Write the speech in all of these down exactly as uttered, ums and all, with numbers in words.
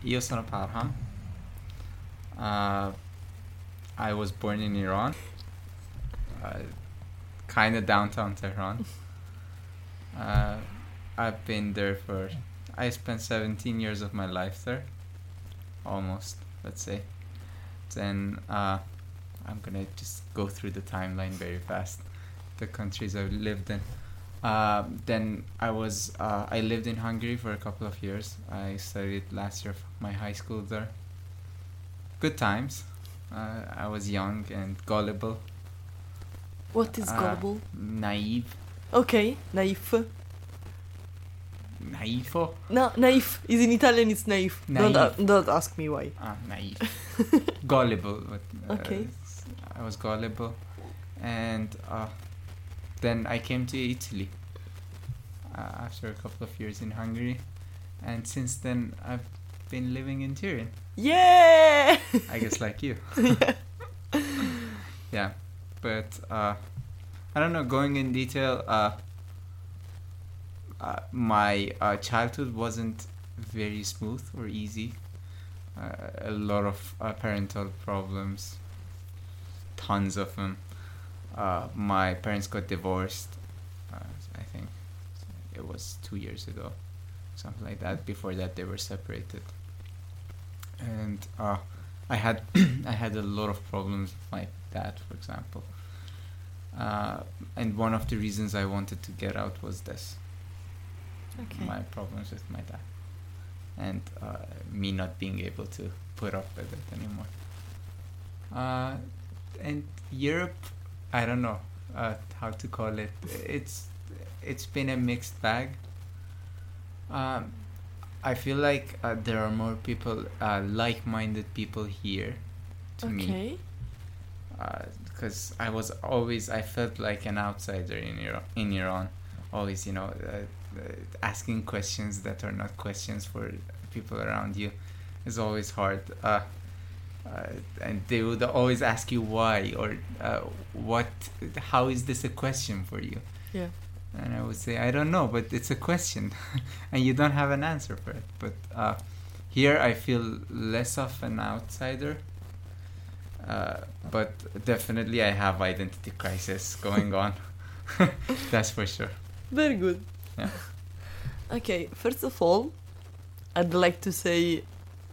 io sono Parham. Uh, I was born in Iran, uh, kind of downtown Tehran. Uh, I've been there for, I spent seventeen years of my life there, almost, let's say. Then uh, I'm gonna just go through the timeline very fast, the countries I've lived in. Uh, then I was, uh, I lived in Hungary for a couple of years. I studied last year my high school there. Good times. Uh, I was young and gullible. What is uh, gullible? Naive. Okay, naif. Naifo? No, naif. Is in Italian, it's naif. Don't, uh, Naive. don't ask me why. Ah, naive. Gullible. But, uh, Okay. I was gullible. And uh, then I came to Italy uh, after a couple of years in Hungary. And since then, I've been living in Turin. Yeah! I guess like you. Yeah. But uh, I don't know, going in detail, uh, uh, my uh, childhood wasn't very smooth or easy. Uh, a lot of uh, parental problems, tons of them. Uh, my parents got divorced, uh, I think it was two years ago, something like that. Before that, they were separated. And uh, I had I had a lot of problems with my dad, for example. Uh, and one of the reasons I wanted to get out was this. Okay. My problems with my dad. And uh, me not being able to put up with it anymore. Uh, and Europe, I don't know uh, how to call it. It's it's been a mixed bag. Um, I feel like uh, there are more people, uh, like-minded people here to me. Okay. Because I was always, I felt like an outsider in Iran. In Iran, always, you know, uh, uh, asking questions that are not questions for people around you is always hard. Uh, uh, and they would always ask you why or uh, what, how is this a question for you? Yeah. And I would say, I don't know, but it's a question, and you don't have an answer for it. But uh, here I feel less of an outsider. Uh, but definitely I have identity crisis going on. That's for sure. Very good. Yeah. Okay, first of all, I'd like to say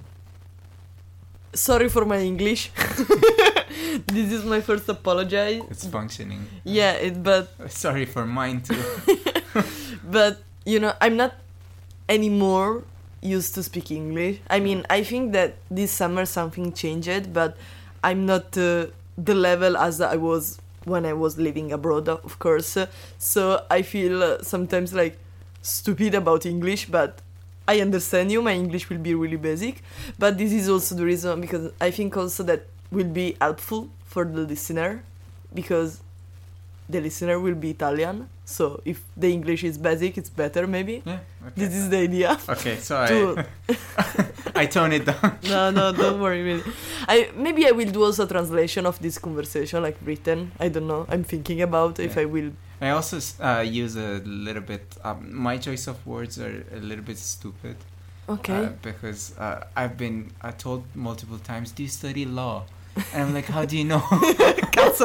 sorry for my English. This is my first apology. It's functioning. Yeah, it, but Sorry for mine too. but you know, I'm not anymore used to speak English. I mean, I think that this summer something changed, but I'm not uh, the level as I was when I was living abroad, of course. So I feel uh, sometimes like stupid about English, but I understand you. My English will be really basic, but this is also the reason, because I think also that will be helpful for the listener, because the listener will be Italian. So if the English is basic, it's better maybe. Yeah. Okay. This is the idea. Okay, so To- I I tone it down. No, no, don't worry, really. I maybe I will do also a translation of this conversation, like written. I don't know. I'm thinking about if Yeah. I will. I also uh, use a little bit. Um, my choice of words are a little bit stupid. Okay. Uh, because uh, I've been uh, told multiple times, "Do you study law?" And I'm like, "How do you know?" Cazzo.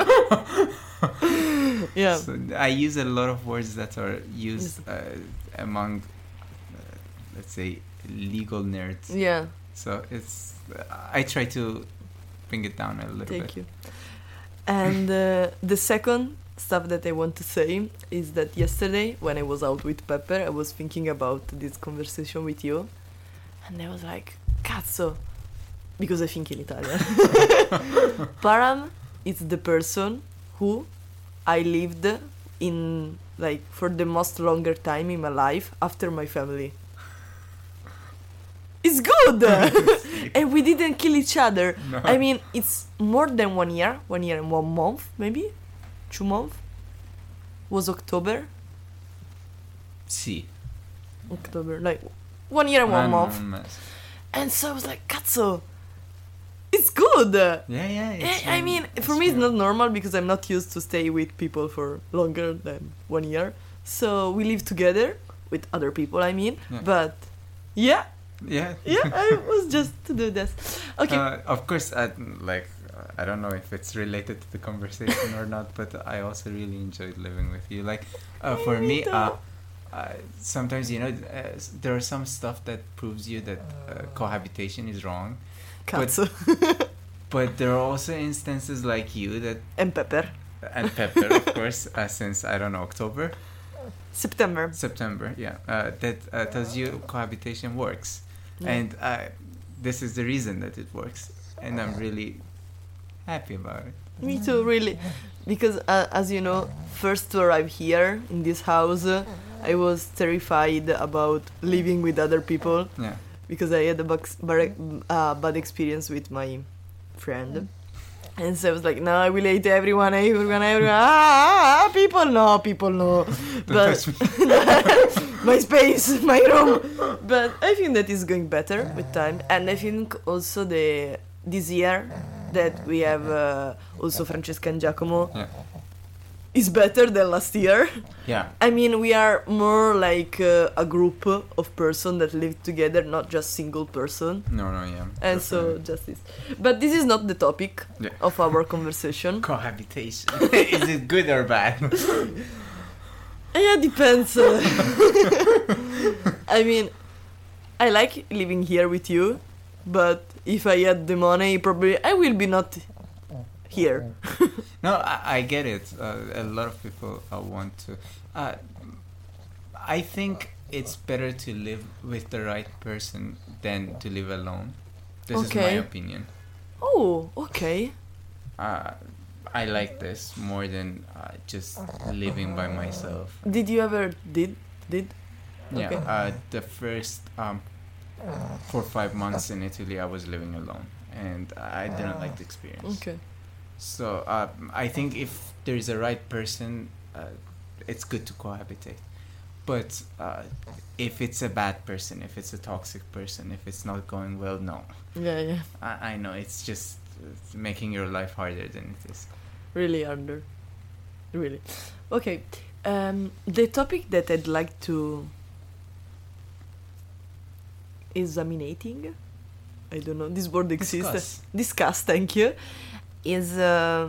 Yeah. So I use a lot of words that are used uh, among, uh, let's say, legal nerds. Yeah. So it's. I try to bring it down a little Thank bit. you. And uh, the second stuff that I want to say is that yesterday, when I was out with Pepper, I was thinking about this conversation with you, and I was like, "Cazzo," because I think in Italian. Param is the person who I lived in, like, for the most longer time in my life after my family. It's good! And we didn't kill each other. No. I mean, it's more than one year, one year and one month, maybe, two months. Was October? Sì. October, like one year and one One- month. one month. And so I was like, "Cazzo, it's good." Yeah, yeah. It's I, I really- mean, it's for me, it's really- not normal because I'm not used to stay with people for longer than one year. So we live together with other people. I mean, Yeah. but yeah, Yeah. Yeah, I was just to do this. Okay. Uh, of course, I, like uh, I don't know if it's related to the conversation or not, but I also really enjoyed living with you. Like, uh, for me, uh, uh, sometimes you know uh, s- there are some stuff that proves you that uh, cohabitation is wrong, Cazzo. but there are also instances like you that And pepper. and Pepper, of course, uh, since I don't know October, September. September, yeah, uh, that uh, tells you cohabitation works. Yeah. And uh, this is the reason that it works, and I'm really happy about it. Me too, really. Because, uh, as you know, first to arrive here in this house, uh, I was terrified about living with other people Yeah, because I had a box, bar- uh, bad experience with my friend. And so I was like, no, I will hate everyone, everyone, everyone. Ah, ah, people, no, people, no. But touch me. my space, my room. But I think that is going better with time, and I think also the this year that we have uh, also Francesca and Giacomo Yeah, is better than last year. yeah, I mean, we are more like uh, a group of person that live together, not just single person. no, no, yeah. And so just this. But this is not the topic Yeah. of our conversation. Cohabitation. Is it good or bad? Yeah, depends. uh. I mean, I like living here with you, but if I had the money, probably I will be not here. No, I, I get it. Uh, a lot of people uh, want to. Uh, I think it's better to live with the right person than to live alone. This is my Okay. opinion. Oh, okay. Uh, I like this more than uh, just living by myself. Did you ever did did? Yeah. Okay. Uh, the first um, four or five months in Italy, I was living alone, and I didn't like the experience. Okay. So uh, I think if there is a right person, uh, it's good to cohabitate. But uh, if it's a bad person, if it's a toxic person, if it's not going well, no. Yeah, yeah. I, I know it's just it's making your life harder than it is. Really under. Really. Okay. Um, the topic that I'd like to examinating. I don't know. This word exists. Discuss. Discuss. Thank you. Is uh,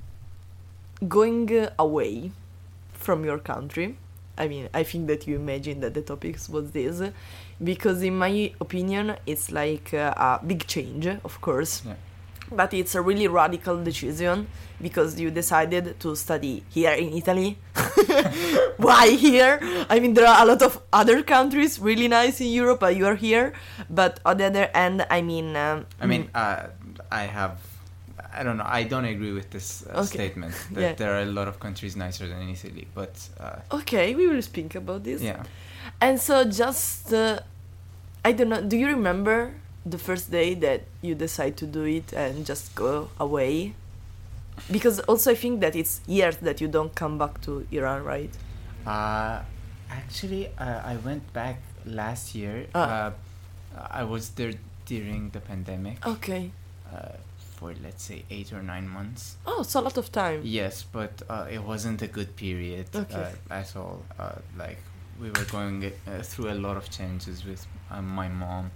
going uh, away from your country. I mean, I think that you imagine that the topic was this, because in my opinion, it's like uh, a big change, of course. Yeah. But it's a really radical decision because you decided to study here in Italy. Why here? I mean, there are a lot of other countries really nice in Europe, but you are here. But on the other hand, I mean, um, I mean, uh, I have. I don't know. I don't agree with this uh, Okay. statement that Yeah. there are a lot of countries nicer than Italy, but uh, okay, we will speak about this. yeah. And so, just uh, I don't know. Do you remember the first day that you decide to do it and just go away? Because also, I think that it's years that you don't come back to Iran, right? Uh, actually, uh, I went back last year. Ah. Uh, I was there during the pandemic Okay. uh, for let's say eight or nine months. Oh, it's a lot of time. Yes, but uh, it wasn't a good period Okay. uh, at all. Uh, like we were going uh, through a lot of changes with uh, my mom,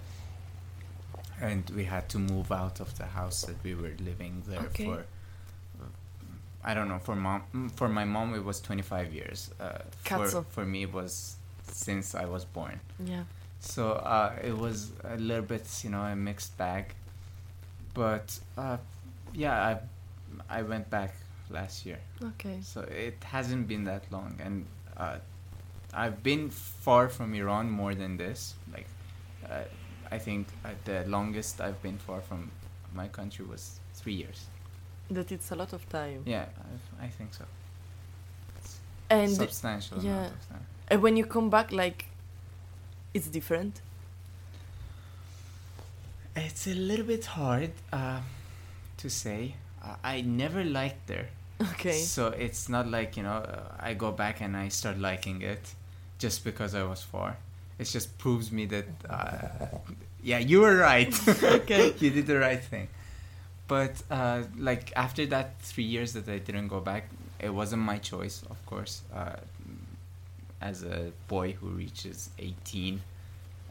and we had to move out of the house that we were living there Okay. for. uh, I don't know. For mom, mm, for my mom, it was twenty-five years. Uh, for Cazzo. for me, it was since I was born. Yeah. So uh, it was a little bit, you know, a mixed bag. But uh, yeah, I I went back last year. Okay. So it hasn't been that long, and uh, I've been far from Iran more than this. Like, uh, I think uh, the longest I've been far from my country was three years. That it's a lot of time. Yeah, I, I think so. It's And substantial yeah. amount of time. and when you come back, like, it's different. It's a little bit hard uh, to say. Uh, I never liked there. Okay. So it's not like, you know, uh, I go back and I start liking it just because I was far. It just proves me that, uh, yeah, you were right. Okay. You did the right thing. But, uh, like, after that three years that I didn't go back, it wasn't my choice, of course. Uh, as a boy who reaches eighteen,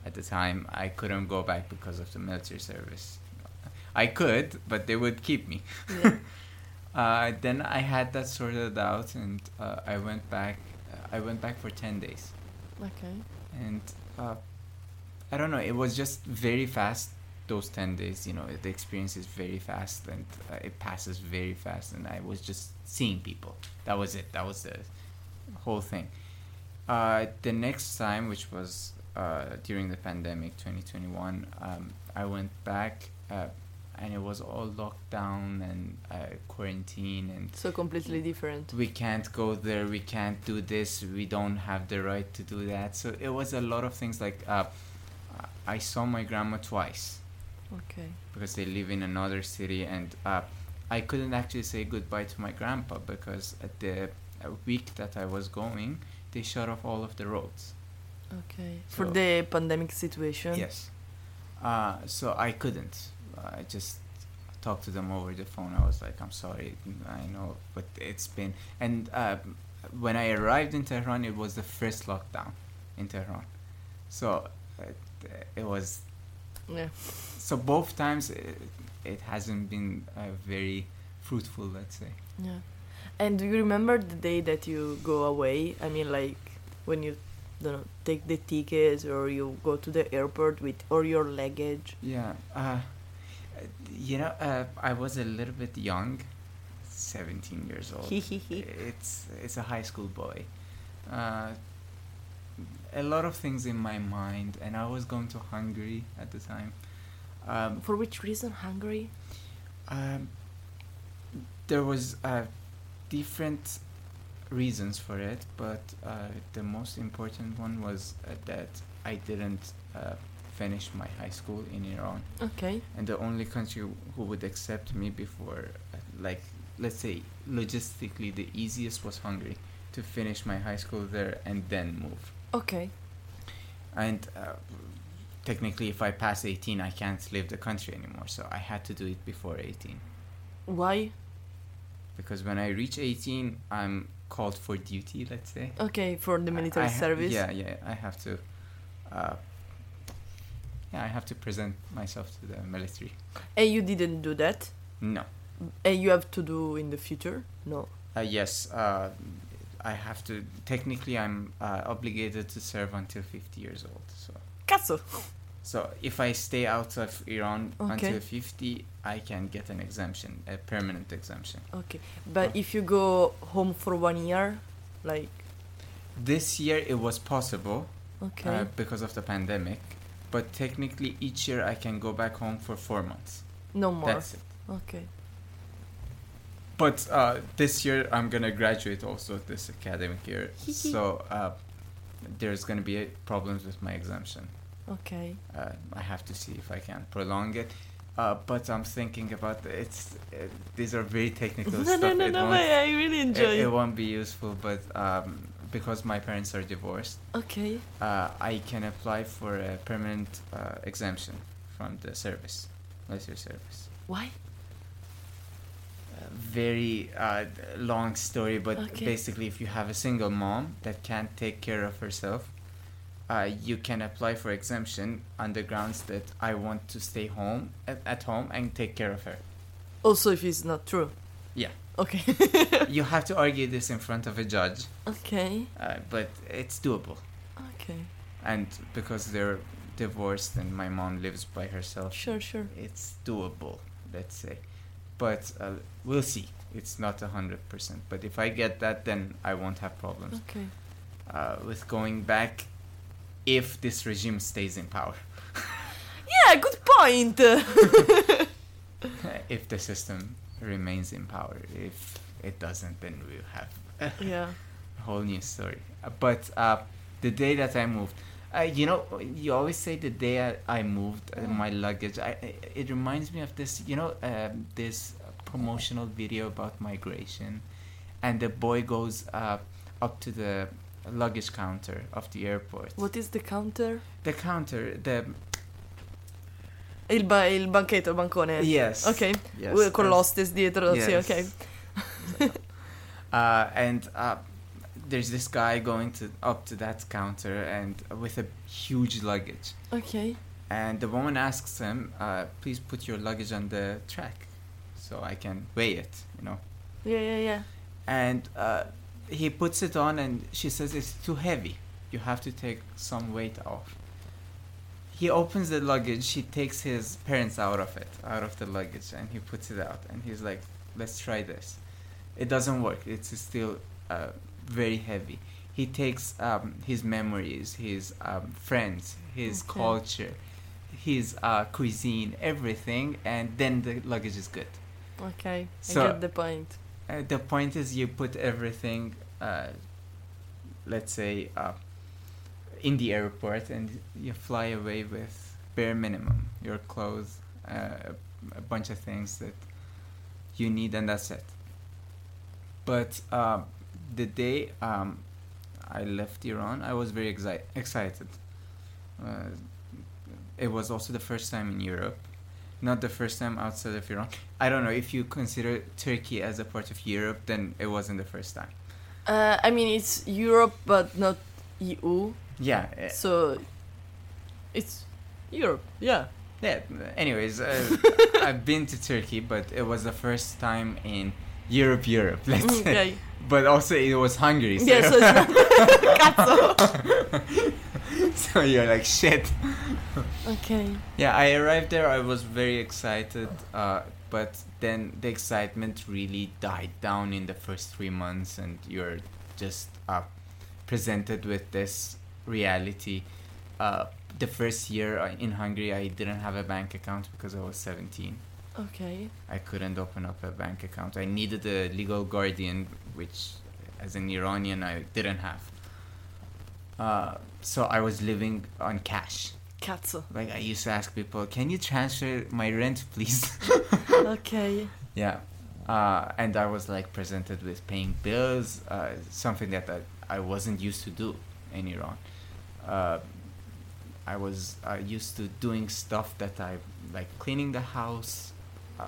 at the time. I couldn't go back because of the military service. I could, but they would keep me. Yeah. uh, then I had that sorted out, and uh, I went back. Uh, I went back for ten days, Okay. and uh, I don't know. It was just very fast. Those ten days, you know, the experience is very fast, and uh, it passes very fast. And I was just seeing people. That was it. That was the whole thing. Uh, the next time, which was uh, during the pandemic, twenty twenty-one, um, I went back. Uh, And it was all locked down and uh, quarantine, and So completely different. we can't go there, we can't do this, we don't have the right to do that. So it was a lot of things like uh, I saw my grandma twice Okay. because they live in another city, and uh, I couldn't actually say goodbye to my grandpa because at the uh, week that I was going, they shut off all of the roads. Okay. For So- the pandemic situation. Yes. Uh, so I couldn't. I just talked to them over the phone. I was like, I'm sorry, I know, but it's been... And uh, when I arrived in Tehran, it was the first lockdown in Tehran. So uh, it was... Yeah. So both times, it, it hasn't been uh, very fruitful, let's say. Yeah. And do you remember the day that you go away? I mean, like, when you, don't know, take the tickets or you go to the airport with all your luggage? Yeah. Uh, you know, uh, I was a little bit young, seventeen years old. it's it's a high school boy. Uh, a lot of things in my mind, and I was going to Hungary at the time. Um, For which reason Hungary? um, there was uh, different reasons for it, but uh, the most important one was uh, that I didn't uh, finish my high school in Iran. Okay. And the only country who would accept me before, uh, like, let's say, logistically, the easiest was Hungary, to finish my high school there and then move. Okay. And uh, technically, if I pass eighteen, I can't leave the country anymore. So I had to do it before eighteen. Why? Because when I reach eighteen, I'm called for duty, let's say. Okay, for the I- military I ha- service. Yeah, yeah, I have to... Uh, yeah, I have to present myself to the military. And you didn't do that? No. And you have to do in the future? No. Uh, yes, uh, I have to. Technically, I'm uh, obligated to serve until fifty years old. So, Cazzo! so if I stay out of Iran Okay. until fifty, I can get an exemption, a permanent exemption. Okay. But if you go home for one year, like, This year it was possible okay. uh, because of the pandemic, but technically each year I can go back home for four months. no more. That's it. Okay. But uh, this year I'm gonna graduate also this academic year, so uh, there's gonna be uh, problems with my exemption. Okay. Uh, I have to see if I can prolong it. Uh, but I'm thinking about it's. Uh, these are very technical No, stuff. no, no, It no, won't- I I really enjoy it, it. it won't be useful, but um, because my parents are divorced, Okay. uh, I can apply for a permanent uh, exemption from the service, military service. Why? Uh, very uh, long story, but Okay. basically, if you have a single mom that can't take care of herself, uh, you can apply for exemption on the grounds that I want to stay home at, at home and take care of her. Also, if it's not true. Yeah. Okay. You have to argue this in front of a judge, Okay. uh, but it's doable. Okay. And because they're divorced and my mom lives by herself, Sure, sure. it's doable, let's say. But uh, we'll see. It's not a hundred percent. But if I get that, then I won't have problems Okay. uh, with going back if this regime stays in power. Yeah, good point. If the system remains in power. If it doesn't, then we'll have Yeah. a whole new story. Uh, but uh, the day that I moved, uh, you know, you always say the day I, I moved uh, my luggage. I, I it reminds me of this, you know, um, this promotional video about migration, and the boy goes uh, up to the luggage counter of the airport. What is the counter? The counter, the Il, ba- il banchetto, il bancone. yes, Ok. yes, Con yes. l'hostess dietro. Sì, Yes. ok. Uh, and uh, there's this guy going to up to that counter and with a huge luggage. Okay. And the woman asks him, uh, please put your luggage on the track so I can weigh it, you know. Yeah, yeah, yeah. And uh, he puts it on and she says it's too heavy. You have to take some weight off. He opens the luggage, he takes his parents out of it, out of the luggage, and he puts it out. And he's like, let's try this. It doesn't work. It's still uh, very heavy. He takes um, his memories, his um, friends, his Okay. culture, his uh, cuisine, everything, and then the luggage is good. Okay. So- I get the point. Uh, the point is you put everything, uh, let's say, uh, in the airport and you fly away with bare minimum. Your clothes, uh, a bunch of things that you need, and that's it. But uh, the day um, I left Iran, I was very exi- excited. Uh, it was also the first time in Europe. Not the first time outside of Iran. I don't know, if you consider Turkey as a part of Europe, then it wasn't the first time. Uh, I mean, it's Europe, but not E U. Yeah. uh, So it's Europe. Yeah. Yeah. Anyways, uh, I've been to Turkey, but it was the first time in Europe, Europe. Let's say. Okay. But also it was Hungary. So, Yeah. So it's not cazzo. so you're like shit. Okay. Yeah, I arrived there. I was very excited, uh, but then the excitement really died down in the first three months, and you're just uh, presented with this reality. Uh, the first year uh, in Hungary, I didn't have a bank account because I was seventeen. Okay. I couldn't open up a bank account. I needed a legal guardian, which, as an Iranian, I didn't have. Uh, so I was living on cash. Cazzo. Like, I used to ask people, can you transfer my rent, please? Okay. Yeah. Uh, and I was, like, presented with paying bills, uh, something that I, I wasn't used to do in Iran. Uh, I was uh, used to doing stuff that I, like, cleaning the house. Uh,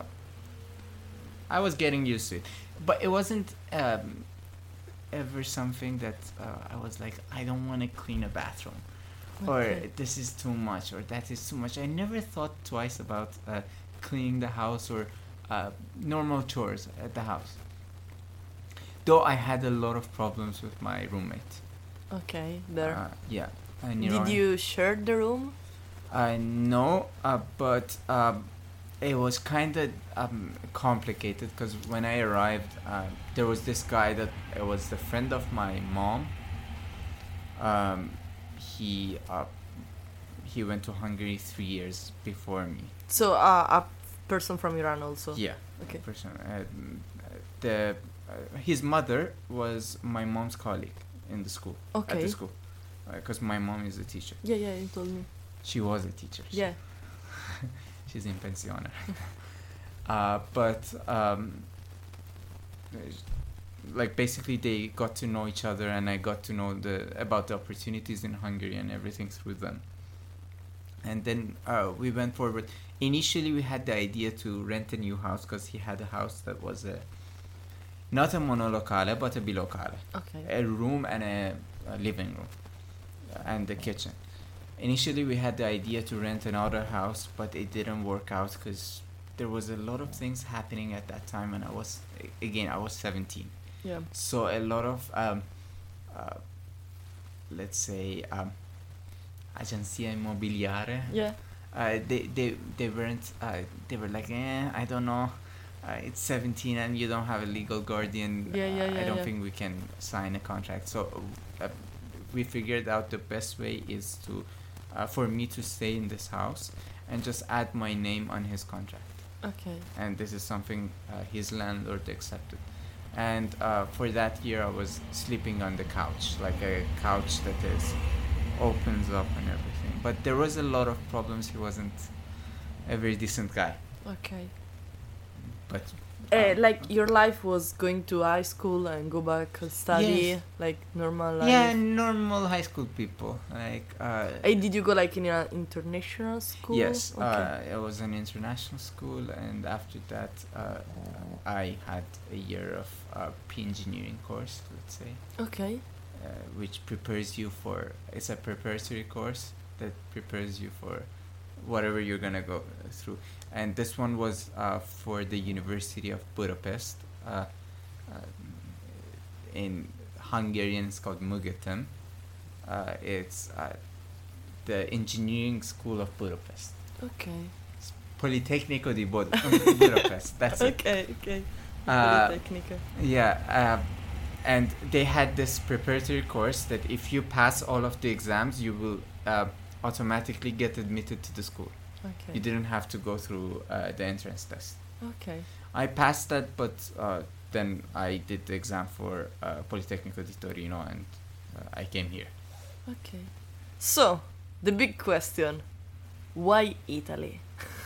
I was getting used to it. But it wasn't um, ever something that uh, I was like, I don't want to clean a bathroom. Or Okay. this is too much, or that is too much. I never thought twice about uh, cleaning the house or uh, normal chores at the house. Though I had a lot of problems with my roommate. Okay. There. Uh, yeah. in Did Iran. you share the room? I know, uh, but um, it was kind of um, complicated because when I arrived, uh, there was this guy that it was the friend of my mom. Um, he uh, he went to Hungary three years before me. So uh, a person from Iran also. Yeah, Okay. person. Uh, the uh, his mother was my mom's colleague in the school. At Okay. the school, because my mom is a teacher. Yeah, yeah, you told me. She was a teacher. so Yeah. She's in pensione. uh, but um, like basically they got to know each other, and I got to know the about the opportunities in Hungary and everything through them. And then uh, we went forward. Initially, we had the idea to rent a new house because he had a house that was a not a monolocale but a bilocale, Okay. a room and a, a living room and the kitchen. Initially, we had the idea to rent another house, but it didn't work out because there was a lot of things happening at that time, and I was, again, I was seventeen. Yeah. So a lot of, um, uh, let's say, um, agencia immobiliare, Yeah. uh, they, they, they weren't, uh, they were like, eh, I don't know, uh, it's seventeen and you don't have a legal guardian. Yeah, yeah, uh, I yeah, don't yeah. think we can sign a contract. So uh, we figured out the best way is to, uh, for me to stay in this house and just add my name on his contract. Okay. And this is something uh, his landlord accepted. And uh, for that year, I was sleeping on the couch, like a couch that is opens up and everything. But there was a lot of problems. He wasn't a very decent guy. Okay. But Uh, um, like your life was going to high school and go back and study, Yes. like normal life. yeah, normal high school people. Like uh, Hey, did you go like in an international school? yes, Okay. uh, it was an international school, and after that, uh, I had a year of uh, pre-engineering course, let's say. okay. which prepares you for. It's a preparatory course that prepares you for whatever you're gonna go through. And this one was uh, for the University of Budapest. Uh, uh, in Hungarian, it's called Mugetem. Uh, it's uh, the engineering school of Budapest. Okay. It's Politecnico di Bud- Budapest. That's it. Okay, okay. Uh, Politecnica. Yeah, uh, and they had this preparatory course that if you pass all of the exams, you will uh, automatically get admitted to the school. Okay. You didn't have to go through uh, the entrance test. Okay. I passed that, but uh, then I did the exam for uh, Politecnico di Torino, and uh, I came here. Okay. So, the big question. Why Italy?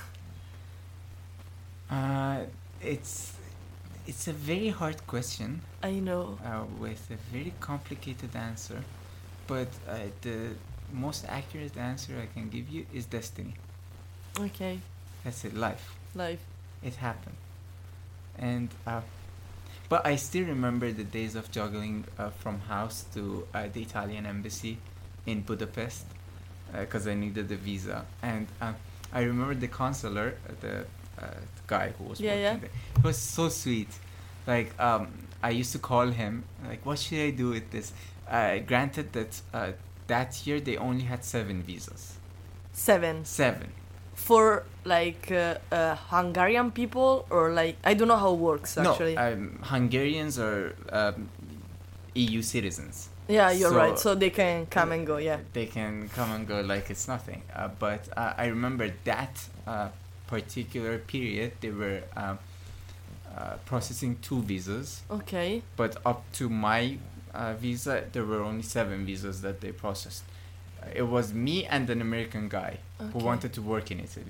Uh, it's it's a very hard question I know. uh, with a very complicated answer, but uh, the most accurate answer I can give you is destiny. Okay. That's it, life. Life. It happened. And uh, but I still remember the days of juggling uh, from house to uh, the Italian embassy in Budapest because uh, I needed a visa. And uh, I remember the consular, uh, the, uh, the guy who was Yeah, working yeah. there. He was so sweet. Like um, I used to call him like, what should I do with this? Uh, granted that uh, that year they only had seven visas. Seven. Seven. For like uh, uh, Hungarian people, or like I don't know how it works actually. No, um, Hungarians are um, E U citizens. yeah, you're so- right. So they can come and go. Yeah. They can come and go like it's nothing. Uh, but uh, I remember that uh, particular period, they were um, uh, processing two visas. Okay. But up to my uh, visa, there were only seven visas that they processed. Uh, it was me and an American guy who Okay. wanted to work in Italy.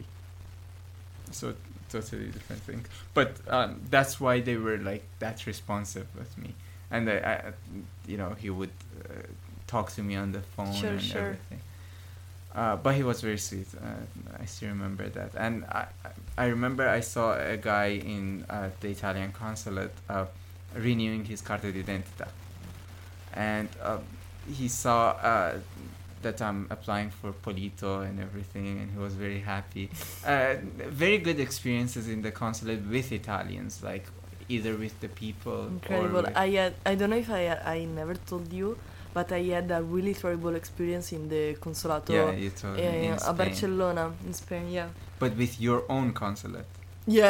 So totally different thing. But um, that's why they were like that responsive with me. And I, I you know, he would uh, talk to me on the phone Sure, and sure. everything. Uh, but he was very sweet. Uh, I still remember that. And I, I remember I saw a guy in uh, the Italian consulate uh, renewing his carta d'identità. And uh, he saw uh, that I'm applying for Polito and everything, and he was very happy. Uh, very good experiences in the consulate with Italians, like either with the people Incredible. or with I had. I don't know if I. I never told you, but I had a really terrible experience in the consolato. yeah, you told me, Yeah, in yeah, a Spain. Barcelona in Spain. Yeah. But with your own consulate. Yeah.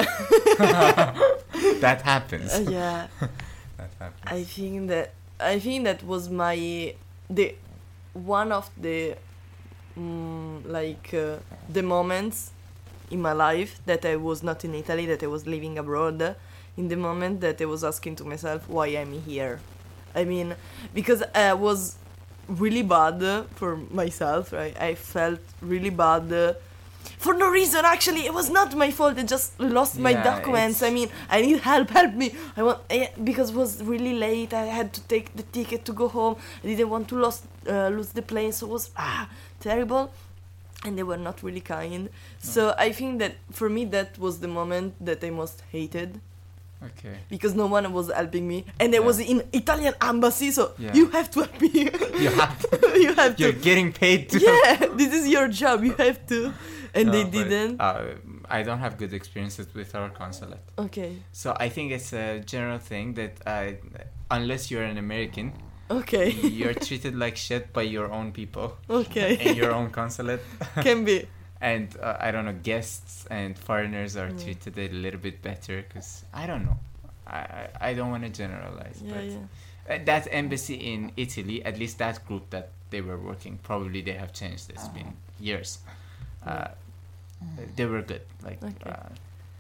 That happens. Uh, yeah. That happens. I think that I think that was my the one of the mm, like uh, the moments in my life that I was not in Italy, that I was living abroad. In the moment that I was asking to myself why I'm here. I mean, because I was really bad for myself. Right? I felt really bad. Uh, for no reason, actually, it was not my fault. I just lost my Yeah, documents. I it's- mean, I need help. Help me! I want eh, because it was really late. I had to take the ticket to go home. I didn't want to lose uh, lose the plane, so it was ah terrible. And they were not really kind. So I think that for me that was the moment that I most hated, Okay. because no one was helping me, and I Yeah. was in Italian embassy. So Yeah. you have to help me. You have to. you have You're to. getting paid to. Yeah, this is your job. You have to. And No, they but, didn't. Uh, I don't have good experiences with our consulate. Okay. So I think it's a general thing that uh, unless you're an American, Okay. you're treated like shit by your own people Okay. in your own consulate. Can be. And uh, I don't know, guests and foreigners are Yeah. treated a little bit better because I don't know. I, I, I don't want to generalize, Yeah, but yeah. uh, that embassy in Italy, at least that group that they were working, probably they have changed. It's been years. Uh, they were good. Like Okay. uh,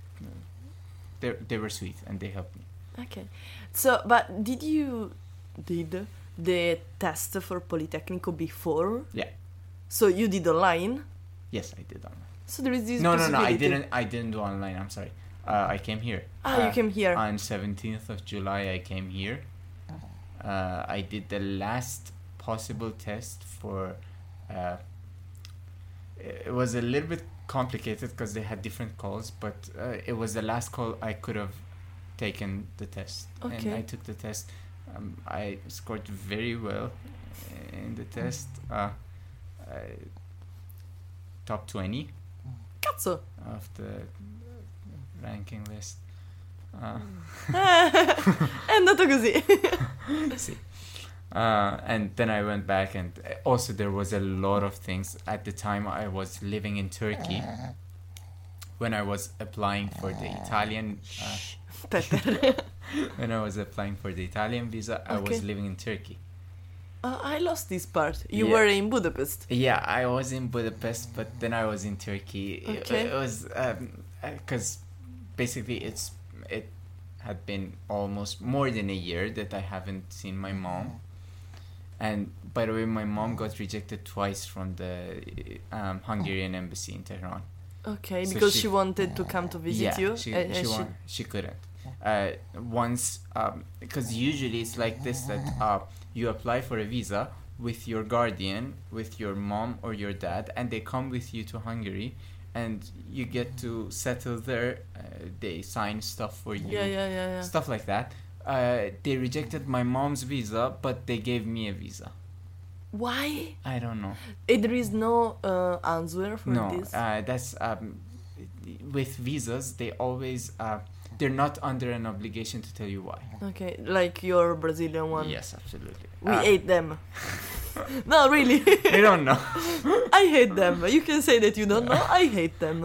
they they were sweet and they helped me. Okay. So, but did you did the test for Politecnico before? Yeah. So you did online. Yes, I did online. So there is this. No, no, no. I possibility. didn't. I didn't do online. I'm sorry. Uh, I came here. Ah, Uh, you came here. On seventeenth of July, I came here. Uh, I did the last possible test for. Uh, it was a little bit complicated because they had different calls, but uh, it was the last call I could have taken the test, and Okay. I took the test. Um, I scored very well in the test. Uh, I, top twenty Cazzo! of the ranking list. Uh, È andato così. sì. Uh, and then I went back, and also there was a lot of things. At the time, I was living in Turkey when I was applying for the Italian. Uh, Peter. when I was applying for the Italian visa, I Okay. was living in Turkey. Uh, I lost this part. You Yeah. were in Budapest. Yeah, I was in Budapest, but then I was in Turkey. It- Okay. It, was because basically it's it had been almost more than a year that I haven't seen my mom. And by the way, my mom got rejected twice from the um, Hungarian embassy in Tehran. Okay, So because she- she, wanted to come to visit yeah, you. she and- she, and wa- she couldn't. Uh, once um, because usually it's like this that uh, you apply for a visa with your guardian, with your mom or your dad, and they come with you to Hungary, and you get to settle there. Uh, they sign stuff for you, Yeah, yeah, yeah, yeah. stuff like that. Uh, they rejected my mom's visa, but they gave me a visa. Why? I don't know. Eh, there is no uh, answer for No, this. uh, that's um, with visas. They always uh, they're not under an obligation to tell you why. Okay, like your Brazilian one. Yes, absolutely. We Uh, hate them. No, really. They don't know. I hate them. You can say that you don't know. I hate them.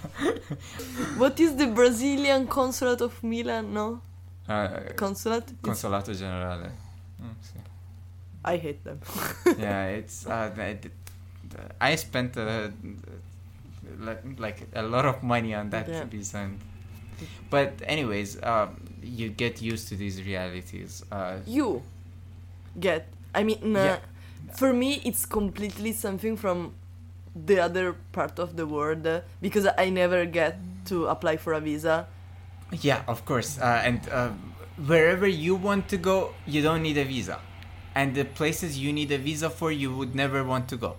What is the Brazilian consulate of Milan? No? Uh, Consulate? It's- Consolato Generale. Mm, sì. I hate them. Yeah, it's. Uh, it, I spent uh, like, like a lot of money on that Yeah. visa. And, but anyways, um, you get used to these realities. Uh, You get. I mean, uh, Yeah. for me, it's completely something from the other part of the world uh, because I never get to apply for a visa. Yeah, of course. Uh, and uh, wherever you want to go, you don't need a visa. And the places you need a visa for, you would never want to go.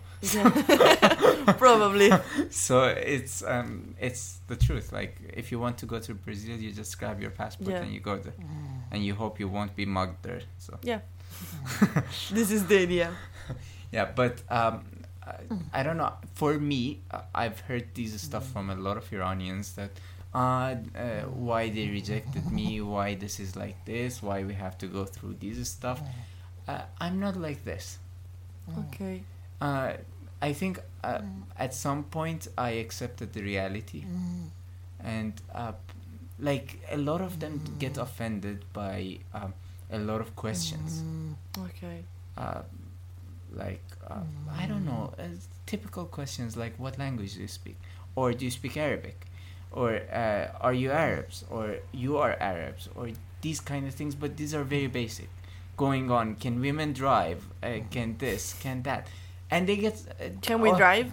Probably. So it's um, it's the truth. Like if you want to go to Brazil, you just grab your passport Yeah. and you go there, and you hope you won't be mugged there. So Yeah. This is the idea. yeah, but um, I, I don't know. For me, uh, I've heard this stuff from a lot of Iranians that. Uh, uh, why they rejected me, why this is like this, why we have to go through this stuff. Uh, I'm not like this. Okay. Uh, I think uh, at some point I accepted the reality, and uh, like a lot of them get offended by um, a lot of questions. Okay. Uh, like uh, I don't know, uh, typical questions like what language do you speak, or do you speak Arabic, or uh, are you Arabs, or you are Arabs, or these kind of things. But these are very basic. Going on, can women drive? Uh, can this? Can that? And they get. Uh, Can we oh, drive?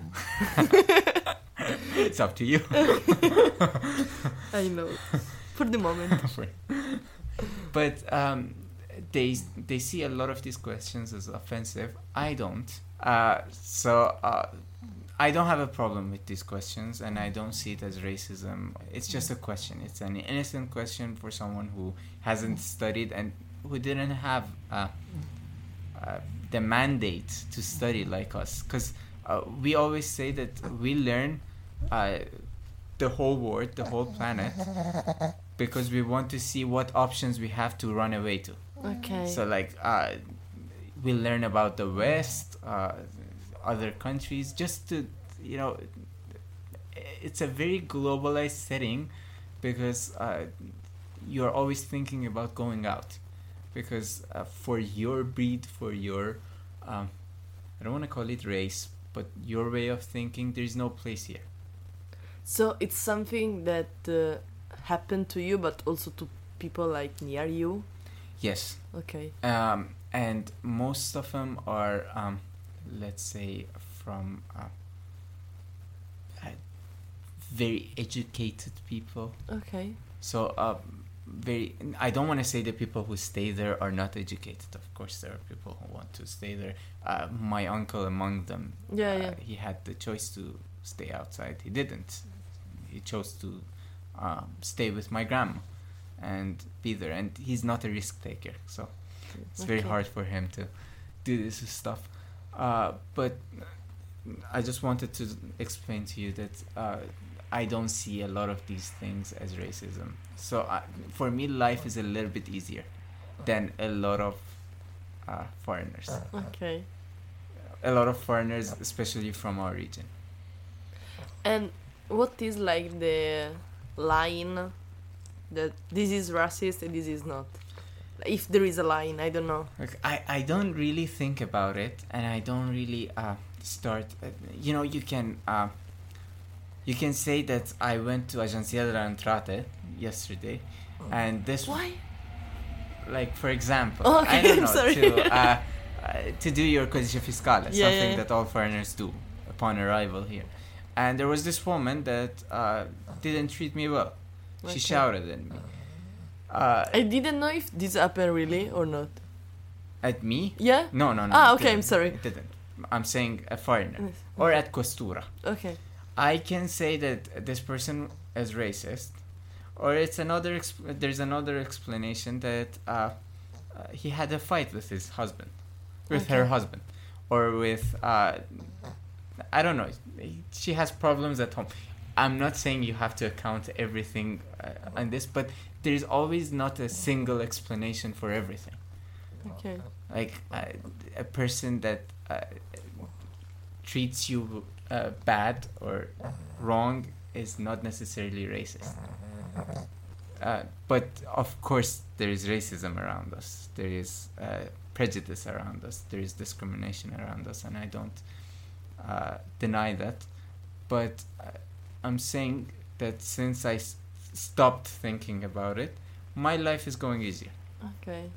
It's up to you. I know. For the moment. But um, they they see a lot of these questions as offensive. I don't. Uh, so uh, I don't have a problem with these questions, and I don't see it as racism. It's just a question. It's an innocent question for someone who hasn't studied and who didn't have uh, uh, the mandate to study like us. Because uh, we always say that we learn uh, the whole world, the whole planet, because we want to see what options we have to run away to. Okay. So like uh, we learn about the West, uh, other countries, just to, you know, it's a very globalized setting because uh, you're always thinking about going out. Because uh, for your breed, for your, um, I don't want to call it race, but your way of thinking, there's no place here. So it's something that uh, happened to you, but also to people like near you. Yes. Okay. Um, and most of them are, um, let's say, from uh, uh, very educated people. Okay. So, uh, very. I don't want to say the people who stay there are not educated. Of course, there are people who want to stay there. Uh, my uncle among them. Yeah, uh, yeah. He had the choice to stay outside. He didn't. He chose to um, stay with my grandma and be there. And he's not a risk taker. So, It's very Okay. hard for him to do this stuff. Uh, but I just wanted to explain to you that uh, I don't see a lot of these things as racism. So I, for me, life is a little bit easier than a lot of uh, foreigners. Okay. A lot of foreigners, especially from our region. And what is like the line that this is racist and this is not? If there is a line, I don't know. Like, I, I don't really think about it, and I don't really uh, start. Uh, you know, you can uh, you can say that I went to Agenzia delle Entrate yesterday, and this Why? like for example, Oh, okay, I don't I'm know sorry. to uh, uh, to do your codice fiscale, Yeah, something yeah, yeah. that all foreigners do upon arrival here. And there was this woman that uh, didn't treat me well. She Okay. shouted at me. Uh, I didn't know if this happened really or not. at me? Yeah? No, no, no. Ah, it okay, I'm didn't. sorry. It didn't. I'm saying a foreigner. Yes. Or at Questura. Okay. I can say that this person is racist, or it's another. Exp- there's another explanation that uh, uh, he had a fight with his husband, with her Okay. husband, or with uh, I don't know. She has problems at home. I'm not saying you have to account everything uh, on this, but there is always not a single explanation for everything. Okay. Like uh, a person that uh, treats you uh, bad or wrong is not necessarily racist. Uh, but of course, there is racism around us. There is uh, prejudice around us. There is discrimination around us, and I don't uh, deny that. But uh, I'm saying that since I s- stopped thinking about it, my life is going easier. Okay.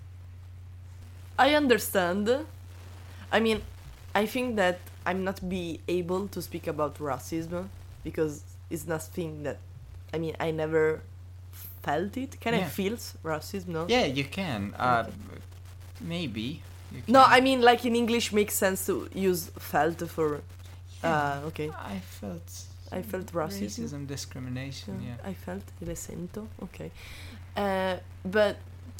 I understand. I mean, I think that I'm not be able to speak about racism because it's nothing that, I mean, I never felt it. Can I Yeah. feel s- racism? No. Yeah, you can. Uh, Okay. Maybe. You No, can. I mean, like in English, makes sense to use felt for. Yeah, Uh, okay. I felt. I felt racism. Racism, discrimination. Yeah. I felt le sento. Okay. Uh, but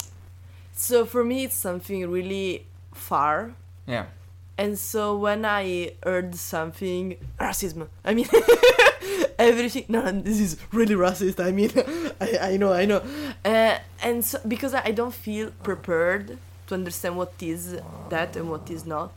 so for me, it's something really far. Yeah. And so when I heard something racism, I mean everything. No, this is really racist. I mean, I I know, I know. Uh, and so because I don't feel prepared to understand what is that and what is not,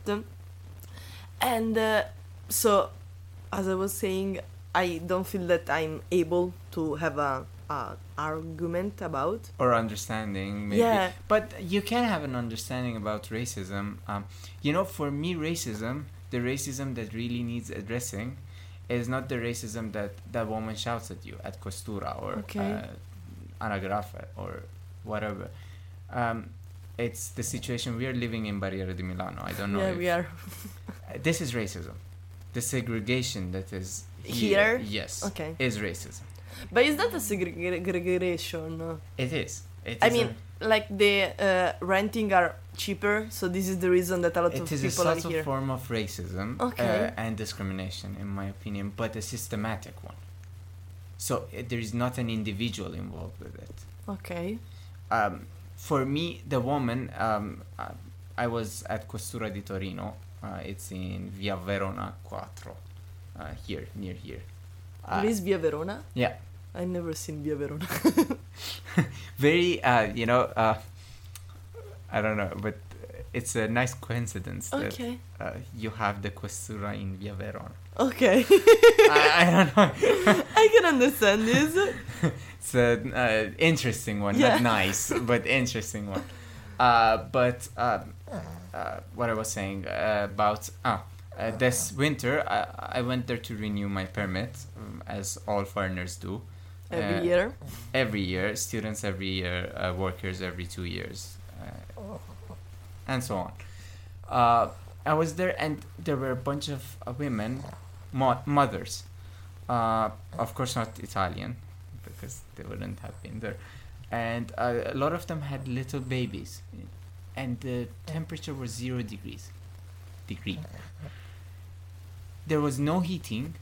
and uh, so as I was saying, I don't feel that I'm able to have a, a argument about. Or understanding, maybe. Yeah. But you can have an understanding about racism. Um, you know, for me, racism, the racism that really needs addressing, is not the racism that that woman shouts at you at Questura or Okay. uh, Anagrafe or whatever. Um, it's the situation we are living in Barriera di Milano. I don't know. Yeah, if, we are. Uh, this is racism. The segregation that is Here? yes, Okay. is racism. But is that a segregation? It is. It I is mean, a, like the uh, renting are cheaper, so this is the reason that a lot of it is a people are subtle here. form of racism Okay. uh, and discrimination, in my opinion, but a systematic one. So uh, there is not an individual involved with it. Okay. Um, for me, the woman, um, uh, I was at Questura di Torino. Uh, it's in Via Verona four, uh, here, near here. Uh, Where is Via Verona? yeah. I've never seen Via Verona. Very, uh, you know, uh, I don't know, but it's a nice coincidence that Okay. uh, you have the Questura in Via Verona. Okay. I, I don't know. I can understand this. It's an uh, interesting one, Yeah. not nice, but interesting one. Uh, but um, uh, what I was saying uh, about ah, uh, this winter, I, I went there to renew my permit, um, as all foreigners do. Every Uh, year. Every year, students every year, uh, workers every two years, uh, and so on. Uh, I was there, and there were a bunch of uh, women, mo- mothers, uh, of course not Italian, because they wouldn't have been there, and uh, a lot of them had little babies, and the temperature was zero degrees, degree. There was no heating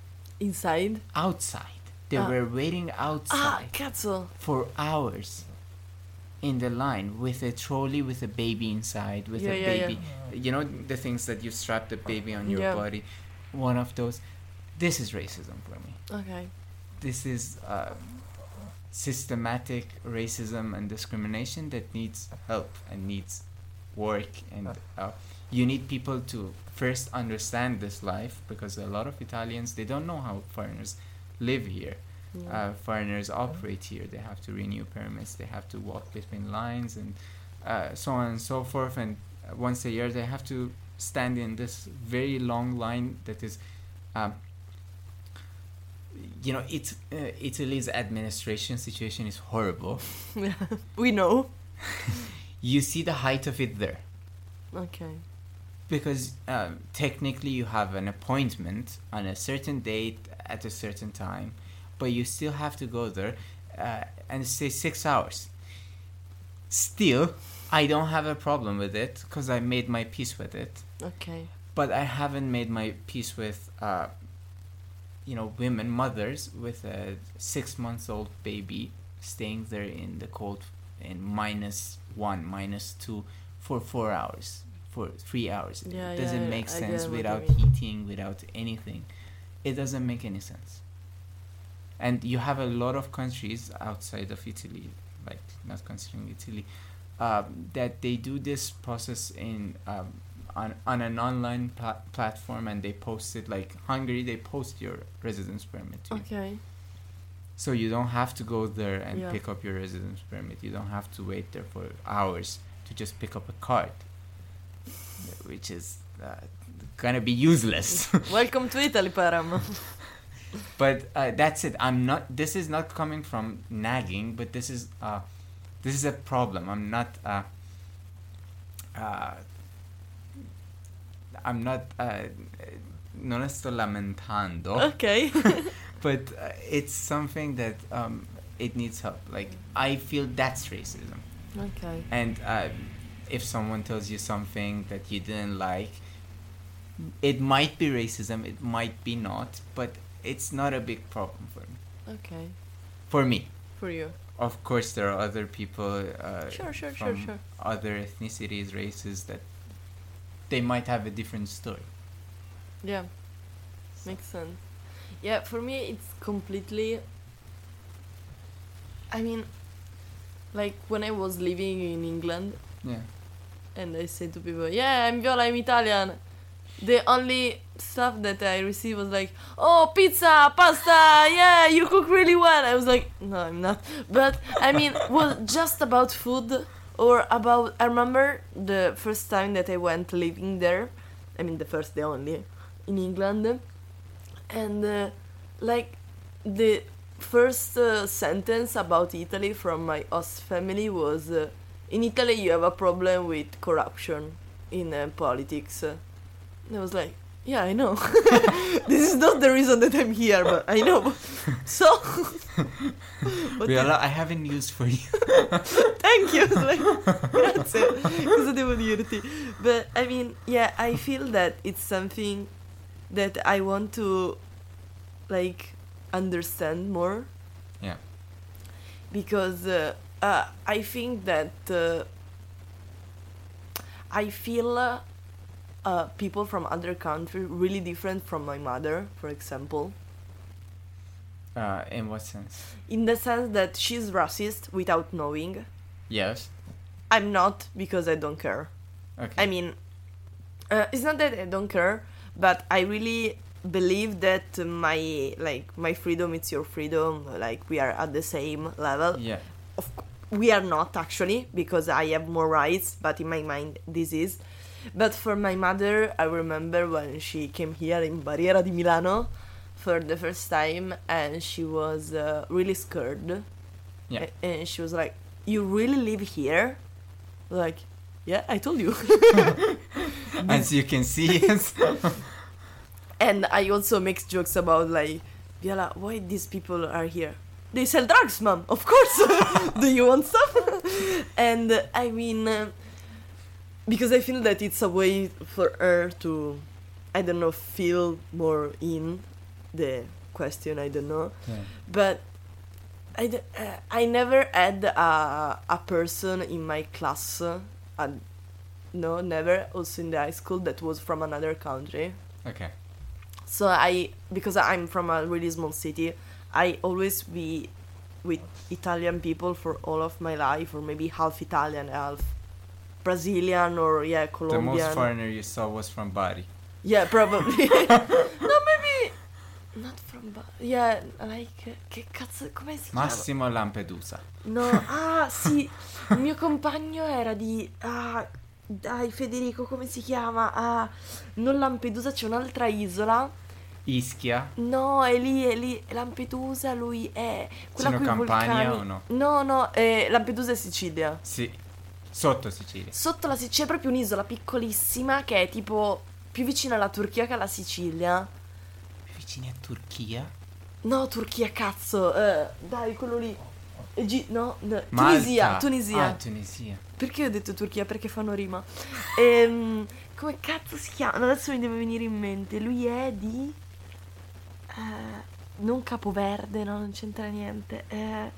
Inside. outside. They Ah. were waiting Ah, outside cazzo. for hours in the line with a trolley with a baby inside, with Yeah, a yeah, baby, you know, the things that you strap the baby on your Yeah. body, one of those. This is racism for me. Okay. This is uh, systematic racism and discrimination that needs help and needs work, and uh, you need people to first understand this life, because a lot of Italians, they don't know how foreigners live here. Yeah. Uh, foreigners operate here. They have to renew permits, they have to walk between lines, and uh, so on and so forth, and uh, once a year they have to stand in this very long line that is um, you know, it, uh, Italy's administration situation is horrible. Yeah. We know. You see the height of it there, Okay. because um, technically you have an appointment on a certain date at a certain time, but you still have to go there uh, and stay six hours. Still, I don't have a problem with it because I made my peace with it. Okay. But I haven't made my peace with, uh, you know, women, mothers with a six months old baby staying there in the cold in minus one, minus two for four hours, for three hours. Yeah, It doesn't yeah, make I sense get what you without mean. heating, without anything. It doesn't make any sense. And you have a lot of countries outside of Italy, like not considering Italy, um, that they do this process in um, on on an online pla- platform, and they post it. Like Hungary, they post your residence permit to you. Okay. So you don't have to go there and Yeah. pick up your residence permit. You don't have to wait there for hours to just pick up a card, which is uh, gonna be useless. Welcome to Italy, Param. But uh, that's it. I'm not. This is not coming from nagging, but this is uh, this is a problem. I'm not. Uh, uh, I'm not. Uh, non sto lamentando. Okay. But uh, it's something that um, it needs help. Like I feel that's racism. Okay. And uh, if someone tells you something that you didn't like, it might be racism. It might be not. But it's not a big problem for me. Okay. For me. For you. Of course, there are other people uh, Sure, sure, sure, from sure. other ethnicities, races that they might have a different story. Yeah. Makes sense. Yeah, for me it's completely. I mean, like when I was living in England Yeah. and I said to people, "Yeah, I'm Viola, I'm Italian." The only stuff that I received was like, "Oh, pizza, pasta, yeah, you cook really well." I was like, "No, I'm not." But I mean, was just about food or about. I remember the first time that I went living there. I mean, the first, the only, in England, and uh, like the first uh, sentence about Italy from my host family was, uh, "In Italy, you have a problem with corruption in uh, politics." And I was like, "Yeah, I know. This is not the reason that I'm here, but I know." So, but Viola, I have a news for you. thank you. Like, grazie. Cosa devo dirti? But I mean, yeah, I feel that it's something that I want to like understand more. Yeah. Because uh, uh, I think that uh, I feel uh, uh, people from other countries really different from my mother, for example. Uh, in what sense? In the sense that she's racist without knowing. Yes. I'm not, because I don't care. Okay. I mean, uh, it's not that I don't care, but I really believe that my like my freedom is your freedom. Like we are at the same level. Yeah. Of c- we are not actually, because I have more rights, but in my mind this is. But for my mother, I remember when she came here in Barriera di Milano for the first time, and she was uh, really scared. Yeah. A- and she was like, "You really live here?" Like, "Yeah, I told you." As you can see, it's And I also make jokes about like, "Viola, why these people are here? They sell drugs, mom. Of course. Do you want stuff?" And uh, I mean, uh, because I feel that it's a way for her to, I don't know, feel more in the question. I don't know, yeah. but I, d- uh, I never had a, a person in my class, uh, and no, never, also in the high school, that was from another country. Okay. So I, because I'm from a really small city, I always be with Italian people for all of my life, or maybe half Italian, half Brazilian, or yeah, The Colombian. most foreigner you saw was from Bari. Yeah, probably. No, maybe not from Ba- yeah, like uh, che cazzo, come si chiama? Massimo Lampedusa. No, ah, sì, il mio compagno era di ah, dai Federico, come si chiama? Ah, non Lampedusa, c'è un'altra isola. Ischia. No, è lì, è lì, Lampedusa, lui è quella Sino con i Campania vulcani. o no? No, no, è Lampedusa è Sicilia. Sì. Sotto Sicilia. Sotto la Sicilia c'è proprio un'isola piccolissima che è tipo più vicina alla Turchia che alla Sicilia. Vicini a Turchia? No, Turchia, cazzo. eh, dai, quello lì. Egi- no, no, Malta. Tunisia, Tunisia. Ah, Tunisia. Perché ho detto Turchia? Perché fanno rima. Ehm, come cazzo si chiama? No, adesso mi deve venire in mente. Lui è di... eh, non Capoverde, no, non c'entra niente. Eh,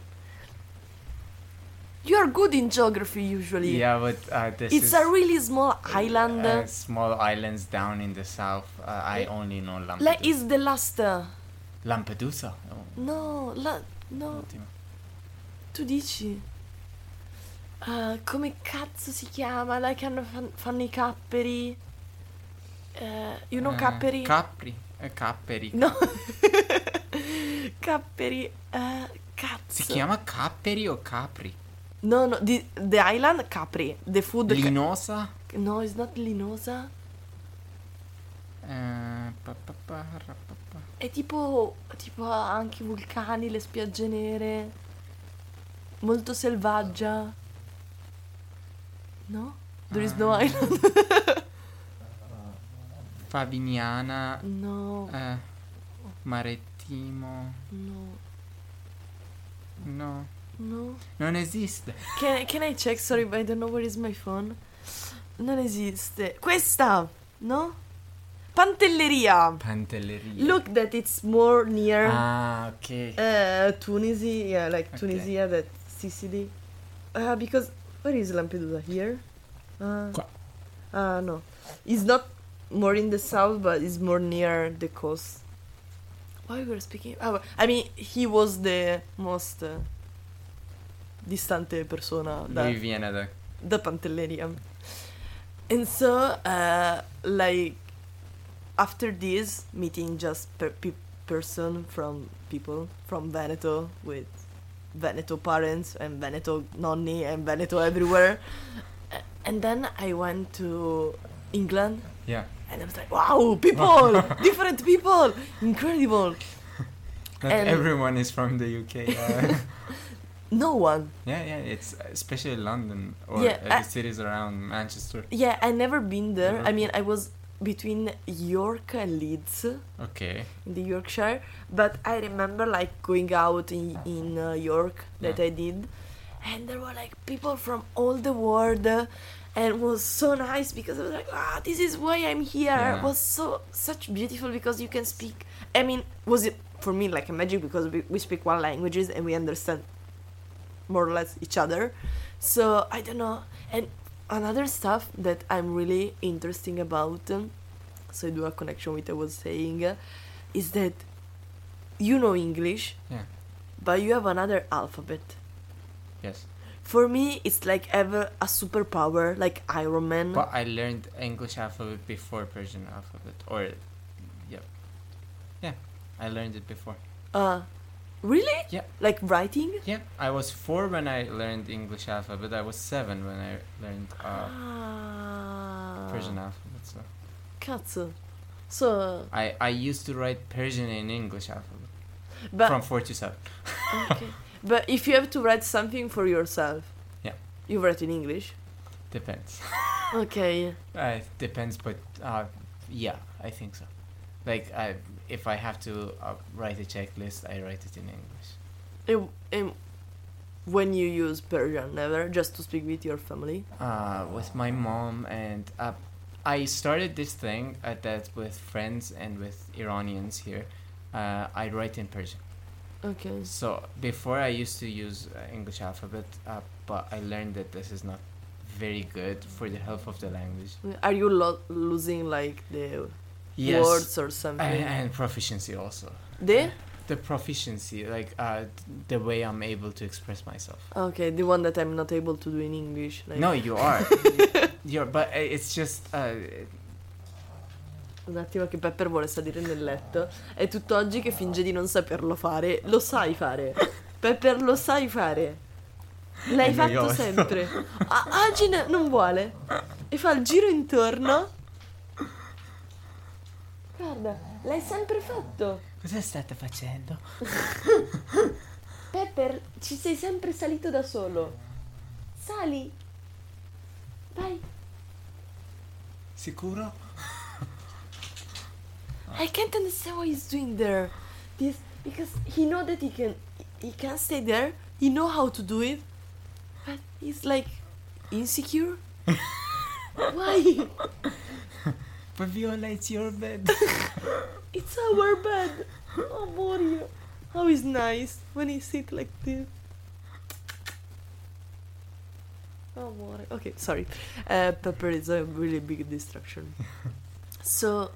you are good in geography usually. Yeah, but uh, this It's is a really small island. uh, small islands down in the south. Uh, I only know Lampedusa. Like, is the last... uh, Lampedusa? Oh, no, la... No, ottimo. tu dici... Uh, come cazzo si chiama? Là che hanno, fan- fanno i capperi. Uh, you know Eh, capperi? Capri. Eh, Capperi. No. Capperi. Uh, cazzo. Si chiama Capperi o Capri? No, no, the, the island Capri. The food. ca- Linosa? no, it's not Linosa. Eh, pa, pa, pa, ra, pa, pa. È tipo, tipo ha anche i vulcani, le spiagge nere. Molto selvaggia. No? There is no Ah. island. Favignana. No, Eh, Marittimo. no, No, no. non esiste. Can, can I check? Sorry, but I don't know where is my phone. Non esiste. Questa, no? Pantelleria. Pantelleria. Look that it's more near Ah, ok. uh, Tunisia. Yeah, like Okay. Tunisia, that Sicily. Uh, because where is Lampedusa? Here? Uh, Qua. uh, no. It's not more in the south, but it's more near the coast. Why we were speaking? Oh, I mean, he was the most uh, distante persona da, Lui viene da... da Pantelleria. And so, uh, like, after this meeting, just per pe- person from people from Veneto with Veneto parents and Veneto nonni and Veneto everywhere. A- And then I went to England Yeah. and I was like, wow, people, different people, incredible. Not And- everyone is from the U K. Uh, No one. yeah, yeah, it's especially London or Yeah, uh, I- the cities around Manchester. Yeah, I never been there. I mean, Liverpool. I was between York and Leeds Okay. in the Yorkshire, but I remember like going out in in uh, York that Yeah. I did, and there were like people from all the world, uh, and it was so nice because I was like, ah, this is why I'm here. Yeah. It was so such beautiful because you can speak. I mean, was it for me like a magic because we, we speak one languages and we understand more or less each other. So I don't know. And another stuff that I'm really interesting about, um, so I do a connection with what I was saying, uh, is that you know English, Yeah. but you have another alphabet. Yes. For me, it's like ever a superpower, like Iron Man. But I learned English alphabet before Persian alphabet. Or, yeah. Yeah, I learned it before. Uh, really? Yeah. Like writing? Yeah, I was four when I learned English alphabet. I was seven when I learned uh, Ah. Persian alphabet. So Cazzo. So, I, I used to write Persian in English alphabet but from four to seven. okay. But if you have to write something for yourself, Yeah. you write in English. Depends. Okay. Uh, it depends, but uh, yeah, I think so. Like, I, if I have to uh, write a checklist, I write it in English. And, and when you use Persian, never just to speak with your family. Uh, with my mom, and uh, I started this thing uh, that with friends and with Iranians here. Uh, I write in Persian. Okay. So before I used to use uh, English alphabet, uh, but I learned that this is not very good for the health of the language. Are you lo- losing like the Yes, words or something? and, and proficiency also. The? The proficiency, like uh, the way I'm able to express myself. Okay, the one that I'm not able to do in English. Like. No, you are. You're, but it's just. Uh, Un attimo che Pepper vuole salire nel letto. È tutt'oggi che finge di non saperlo fare. Lo sai fare. Pepper, lo sai fare. L'hai È fatto noioso. sempre. Ah, oggi ne- non vuole. E fa il giro intorno. Guarda, l'hai sempre fatto. Cosa state facendo? Pepper, ci sei sempre salito da solo. Sali. Vai. Sicuro? I can't understand what he's doing there. This because he know that he can he can stay there. He know how to do it, but he's like insecure. Why? But Viola, it's your bed. It's our bed. Oh, Mario. How is nice when he sit like this. Oh, Mario. Okay, sorry. Uh, Pepper is a really big distraction. So,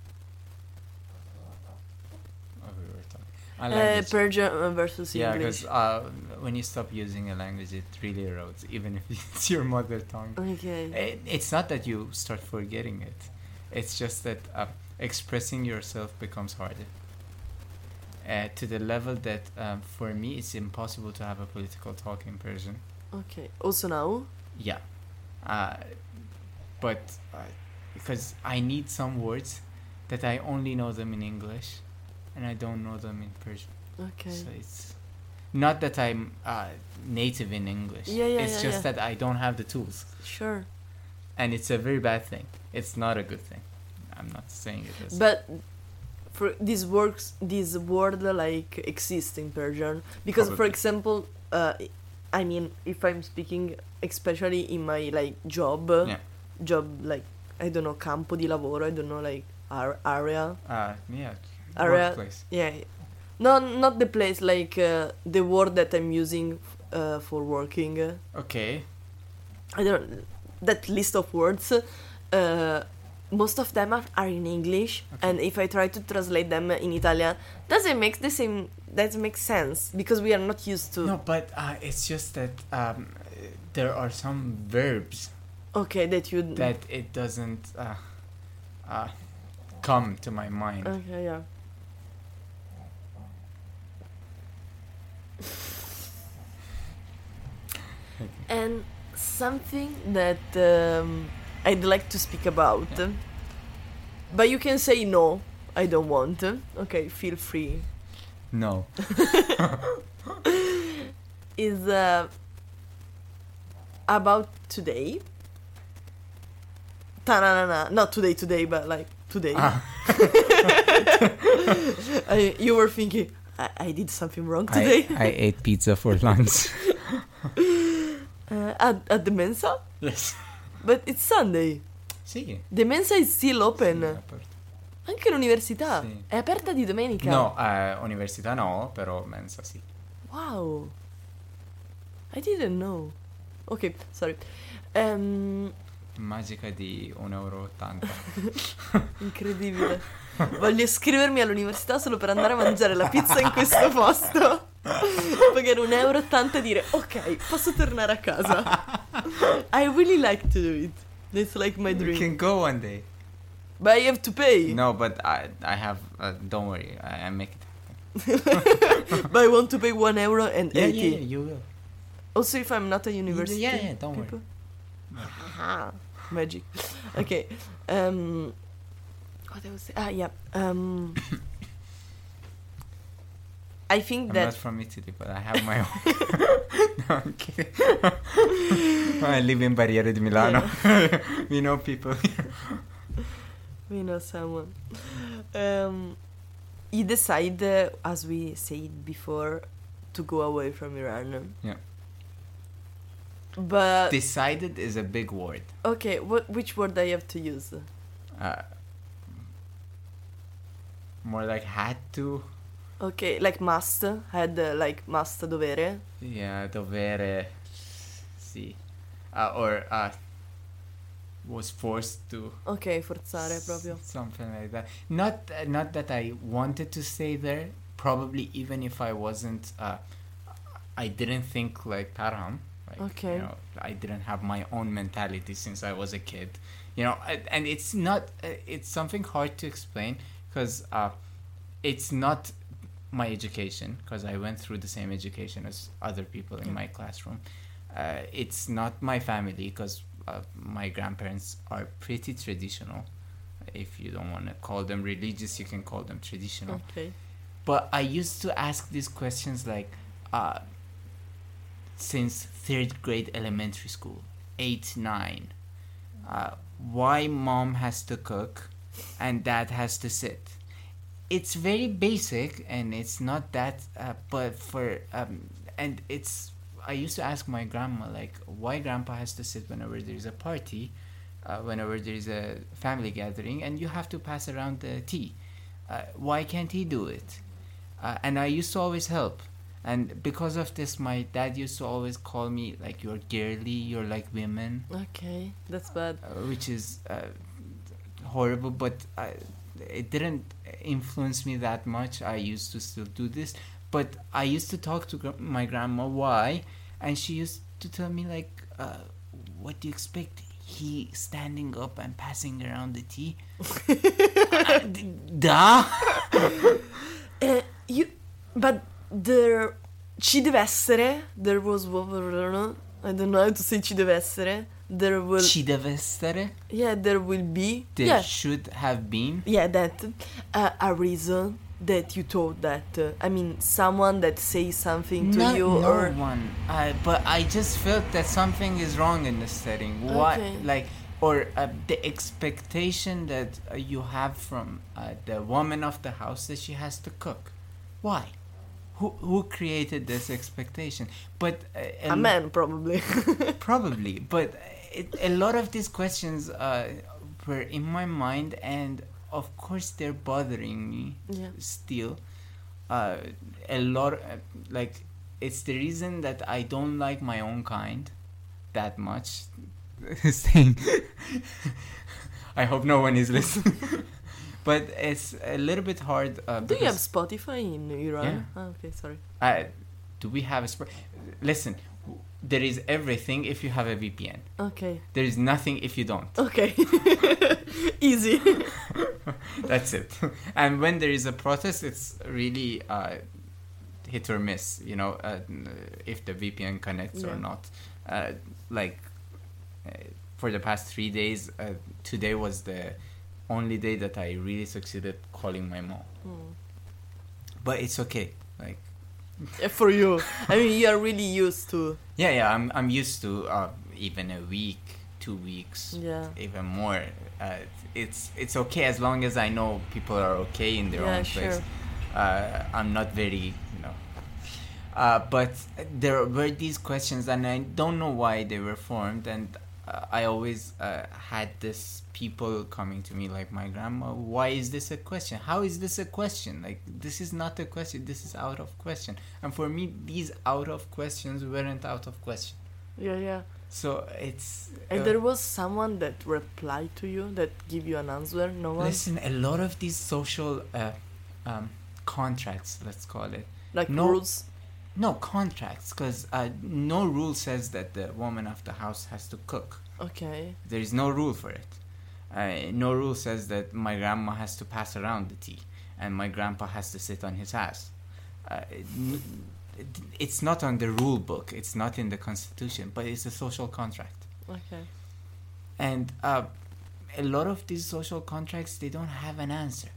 Oh, we were talking. A uh, language. Persian versus Yeah, English. because uh, when you stop using a language, it really erodes, even if it's your mother tongue. Okay. It, it's not that you start forgetting it. It's just that uh, expressing yourself becomes harder. Uh, to the level that, um, for me, it's impossible to have a political talk in Persian. Okay. Also now. Yeah. Uh, but uh, because I need some words that I only know them in English and I don't know them in Persian. Okay. So it's not that I'm uh, native in English. Yeah, yeah, It's yeah, just yeah. that I don't have the tools. Sure. And it's a very bad thing. It's not a good thing. I'm not saying it is. But for these works, this word like exists in Persian because, for Probably. example, uh, I mean, if I'm speaking, especially in my like job, Yeah. job like I don't know, campo di lavoro, I don't know, like ar- area, Uh, yeah. area, Workplace. yeah, no, not the place, like uh, the word that I'm using uh, for working. Okay. I don't that list of words. Uh, most of them are, are in English, Okay. and if I try to translate them in Italian, doesn't make the same. Doesn't make sense because we are not used to. No, but uh, it's just that um, there are some verbs Okay, that you. that it doesn't uh, uh, come to my mind. Okay, yeah. And something that um, I'd like to speak about, Yeah. but you can say no. I don't want. Okay, feel free. No. Is uh, about today. Ta-na-na-na. Not today, today, but like today. Ah. I, you were thinking, I, I did something wrong I, today. I ate pizza for lunch. uh, at, at the Mensa? Yes. But it's Sunday. Sì. The Mensa is still open. Sì, aperto. Anche l'università. Sì. È aperta di domenica. No, eh, università no, però mensa sì. Wow. I didn't know. Ok, sorry. Um, Magica di un euro e ottanta. incredibile. Voglio iscrivermi all'università solo per andare a mangiare la pizza in questo posto. Pagare un euro e ottanta e dire ok, posso tornare a casa. I really like to do it. It's like my You dream. can go one day. But I have to pay. No, but I I have. Uh, don't worry, I, I make it. But I want to pay one euro and Yeah, eighty. yeah, yeah, you will. Also, if I'm not a university. Yeah, yeah, don't people. worry. Aha. Magic. Okay. Um. What I was saying? Ah, yeah. Um. I think I'm that. not from Italy, but I have my own. No, I'm kidding. I live in Barriere di Milano. We know people here. We know someone. Um, you decide, uh, as we said before, to go away from Iran. Yeah. But Decided is a big word. okay, what which word I have to use? Uh, more like had to. Okay, like must. Had uh, like must dovere. Yeah, dovere, sì. Uh, or uh, was forced to. Ok, forzare S- proprio. something like that. Not uh, not that I wanted to stay there. Probably even if I wasn't, uh, I didn't think like Tarham. Like, Okay. you know, I didn't have my own mentality since I was a kid. You know, I- and it's not. Uh, it's something hard to explain because uh, it's not my education because I went through the same education as other people in Yeah. my classroom. Uh, it's not my family because uh, my grandparents are pretty traditional. If you don't want to call them religious, you can call them traditional. Ok. But I used to ask these questions like, uh, since third grade elementary school, eight, nine, uh, why mom has to cook and dad has to sit. It's very basic and it's not that, uh, but for, um, and it's, I used to ask my grandma, like, why grandpa has to sit whenever there's a party, uh, whenever there's a family gathering, and you have to pass around the tea. Uh, why can't he do it? Uh, and I used to always help. And because of this, my dad used to always call me, like, you're girly, you're like women, Ok, that's bad. uh, which is uh, horrible, but I, it didn't influence me that much. I used to still do this. But I used to talk to gr- my grandma why, and she used to tell me, like, uh, what do you expect? He standing up and passing around the tea? uh, d- da? Eh, you, but there, ci deve essere. There was, I don't know how to say ci deve essere. There will, Ci deve essere? yeah, there will be, There yeah, should have been. yeah, that uh, a reason that you thought that. Uh, I mean, someone that says something to no, you no or one. Uh, but I just felt that something is wrong in the setting. What, Okay. like, or uh, the expectation that uh, you have from uh, the woman of the house that she has to cook. Why? Who who created this expectation? But uh, a l- man probably. Probably, but it, a lot of these questions uh, were in my mind, and of course they're bothering me Yeah. still. Uh, a lot, uh, like, it's the reason that I don't like my own kind that much. Saying, I hope no one is listening. But it's a little bit hard. Uh, Do you have because- Spotify in Iran? Yeah. Ah, okay, sorry. Uh, do we have a sp- listen? w- There is everything if you have a V P N. Okay. There is nothing if you don't. Okay. Easy. That's it. And when there is a protest, it's really uh, hit or miss. You know, uh, if the V P N connects Yeah. or not. Uh, like uh, for the past three days, uh, today was the only day that I really succeeded calling my mom. Hmm. But it's okay. Like. Yeah, for you. I mean, you are really used to. Yeah, yeah, I'm I'm used to uh, even a week, two weeks, Yeah. even more. Uh, it's it's okay as long as I know people are okay in their Yeah, own sure. place. Uh, I'm not very, you know. Uh, but there were these questions, and I don't know why they were formed. And uh, I always uh, had this people coming to me, like my grandma. Why is this a question? How is this a question? Like, this is not a question. This is out of question. And for me, these out of questions weren't out of question. Yeah, yeah. So it's. And uh, there was someone that replied to you, that give you an answer. No one. Listen, a lot of these social uh, um, contracts, let's call it. Like no- rules. No, contracts, because uh, no rule says that the woman of the house has to cook. Okay. There is no rule for it. Uh, no rule says that my grandma has to pass around the tea and my grandpa has to sit on his ass. Uh, n- it's not on the rule book. It's not in the constitution, but it's a social contract. Okay. And uh, a lot of these social contracts, they don't have an answer.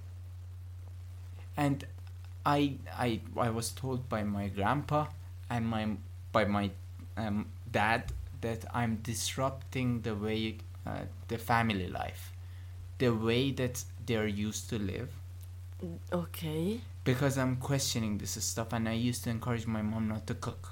And I, I, I was told by my grandpa and my by my um, dad that I'm disrupting the way uh, the family life, the way that they're used to live, Okay. because I'm questioning this stuff, and I used to encourage my mom not to cook.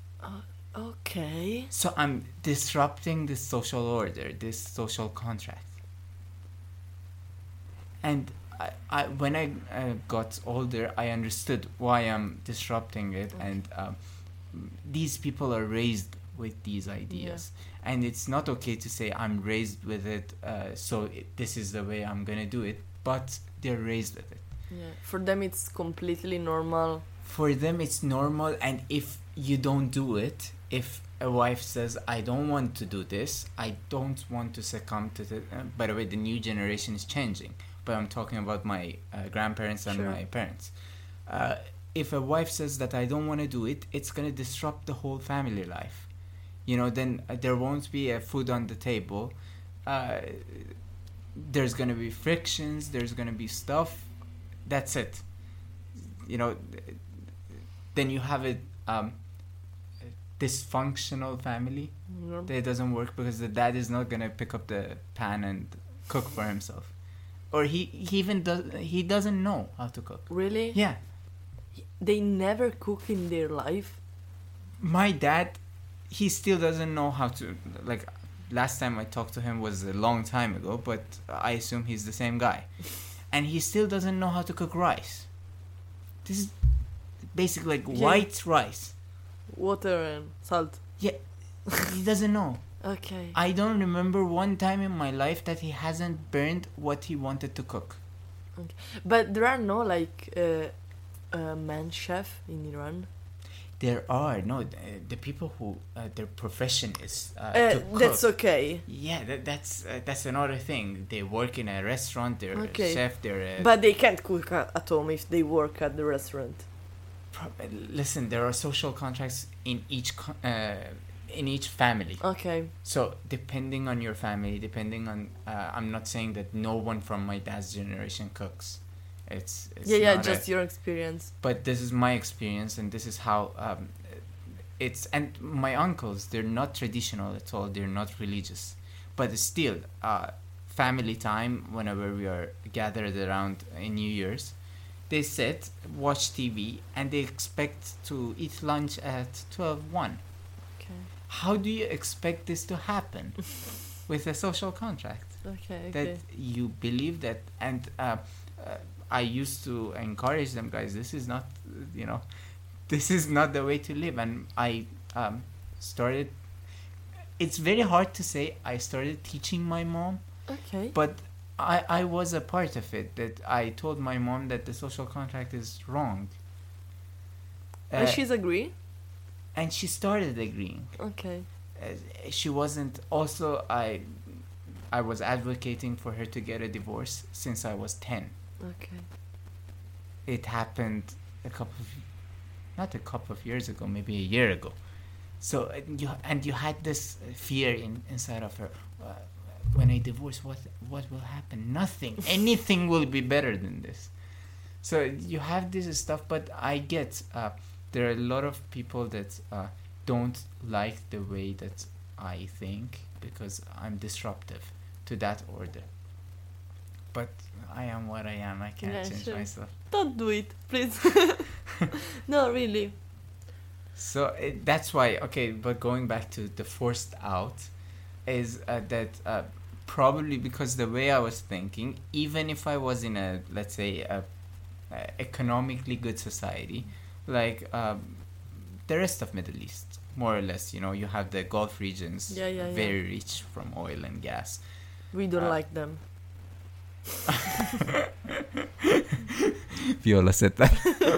Okay. So I'm disrupting this social order, this social contract. And I, I when I uh, got older, I understood why I'm disrupting it, Okay. and um, these people are raised with these ideas, and it's not okay to say I'm raised with it, uh, so it, this is the way I'm gonna do it. But they're raised with it. Yeah. For them, it's completely normal. For them, it's normal, and if you don't do it, if a wife says, I don't want to do this, I don't want to succumb to the... Uh, by the way, the new generation is changing, but I'm talking about my uh, grandparents and Sure. my parents. Uh, if a wife says that I don't want to do it, it's going to disrupt the whole family life. You know, then uh, there won't be a food on the table. Uh, there's going to be frictions, there's going to be stuff. That's it. You know, then you have a um, dysfunctional family. Yeah. That doesn't work because the dad is not gonna pick up the pan and cook for himself, or he, he even does he doesn't know how to cook. Really? Yeah, They never cook in their life. my dad, he still doesn't know how to, like, last time I talked to him was a long time ago, but I assume he's the same guy, and he still doesn't know how to cook rice. This is basically like Yeah. white rice. Water and salt. Yeah, he doesn't know. Okay. I don't remember one time in my life that he hasn't burned what he wanted to cook. But there are no like uh, uh, man chef in Iran. There are no the, the people who uh, their profession is uh, Uh, to cook. that's okay. Yeah, that, that's uh, that's another thing. They work in a restaurant. They're Okay. a chef. They're a But they can't cook at, at home if they work at the restaurant. pro- listen. There are social contracts in each co- uh, in each family. Okay. So depending on your family, depending on, uh, I'm not saying that no one from my dad's generation cooks. It's, it's yeah, yeah, not just a, your experience. but this is my experience, and this is how um, it's. And my uncles, they're not traditional at all. They're not religious, but still, uh, family time. Whenever we are gathered around in New Year's, they sit, watch T V, and they expect to eat lunch at twelve one. Okay. How do you expect this to happen with a social contract? Okay. Okay. That you believe that, and uh, uh, I used to encourage them, guys, this is not, you know, this is not the way to live. And I um, started, it's very hard to say I started teaching my mom, Okay. but I, I was a part of it, that I told my mom that the social contract is wrong. And Uh, she's agree. and she started agreeing. Okay. Uh, she wasn't, also I I was advocating for her to get a divorce since I was ten. Okay. It happened a couple of, not a couple of years ago, maybe a year ago. So uh, you and you had this fear in inside of her. Uh, when I divorce, what what will happen? Nothing. Anything will be better than this. So you have this stuff, but I get uh, there are a lot of people that uh, don't like the way that I think because I'm disruptive to that order. But I am what I am. I can't Yeah, change sure. myself. Don't do it, please. No, really. So it, that's why, okay, but going back to the forced out is uh, that uh, probably because the way I was thinking, even if I was in a, let's say, a, a economically good society, like um, the rest of Middle East, more or less, you know, you have the Gulf regions, Yeah, yeah, yeah. very rich from oil and gas. We don't Uh, like them. Viola said that.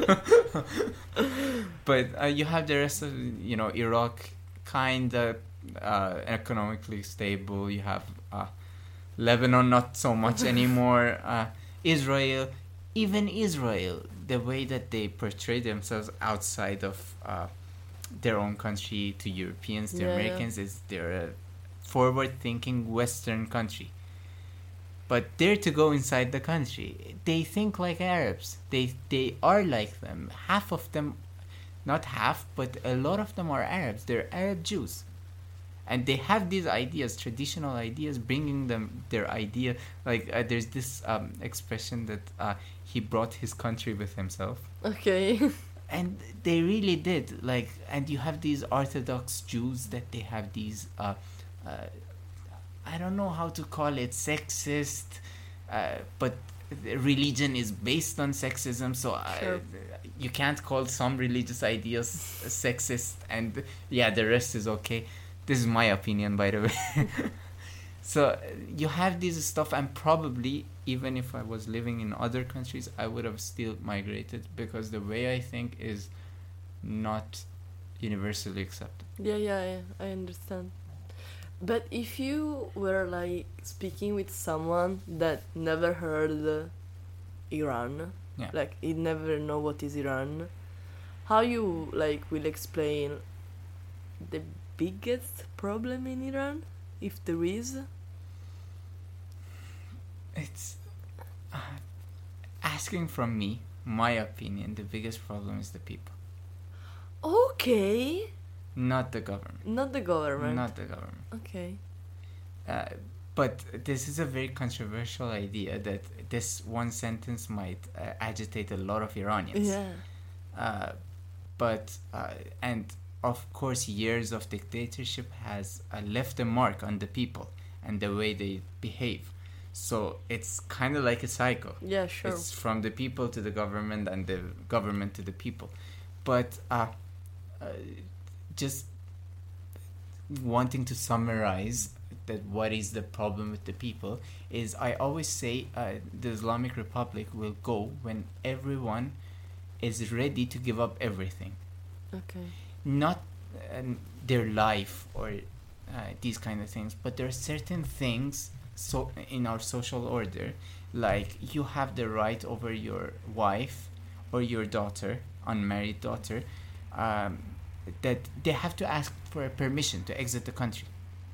But uh, you have the rest of, you know, Iraq, kind of uh, economically stable. You have uh, Lebanon, not so much anymore. Uh, Israel, even Israel, the way that they portray themselves outside of uh, their own country to Europeans, to Yeah, yeah. Americans, is they're a forward-thinking Western country. But they're to go inside the country. They think like Arabs. They they are like them. Half of them, not half, but a lot of them are Arabs. They're Arab Jews, and they have these ideas, traditional ideas, bringing them their idea. Like uh, there's this um, expression that uh, he brought his country with himself, Okay. and they really did. Like, and you have these Orthodox Jews that they have these. Uh, uh, I don't know how to call it, sexist, uh, but religion is based on sexism, so Sure. uh, you can't call some religious ideas sexist, and yeah, the rest is okay. This is my opinion, by the way. So uh, you have this stuff, and probably even if I was living in other countries, I would have still migrated, because the way I think is not universally accepted. Yeah, yeah, yeah, I understand. But if you were like speaking with someone that never heard uh, Iran, Yeah. like he never know what is Iran, how you like will explain the biggest problem in Iran, if there is? It's uh, asking from me, my opinion, the biggest problem is the people, Okay, not the government. not the government. Not the government. Okay. Uh, but this is a very controversial idea that this one sentence might uh, agitate a lot of Iranians. Yeah. Uh, but, uh, and of course, years of dictatorship has uh, left a mark on the people and the way they behave. So it's kind of like a cycle. Yeah, sure. It's from the people to the government and the government to the people. But uh, uh, just wanting to summarize that what is the problem with the people is, I always say uh, the Islamic Republic will go when everyone is ready to give up everything. Okay. Not um, their life or uh, these kind of things, but there are certain things so in our social order, like you have the right over your wife or your daughter, unmarried daughter, um, that they have to ask for permission to exit the country.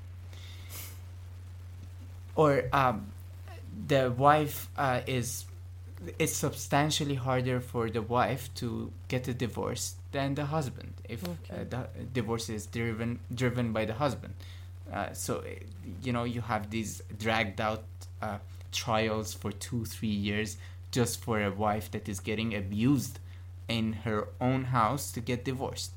Or um, the wife uh, is it's substantially harder for the wife to get a divorce than the husband if Okay. uh, the divorce is driven driven by the husband. Uh, so uh, you know, you have these dragged out uh, trials for two three years just for a wife that is getting abused in her own house to get divorced.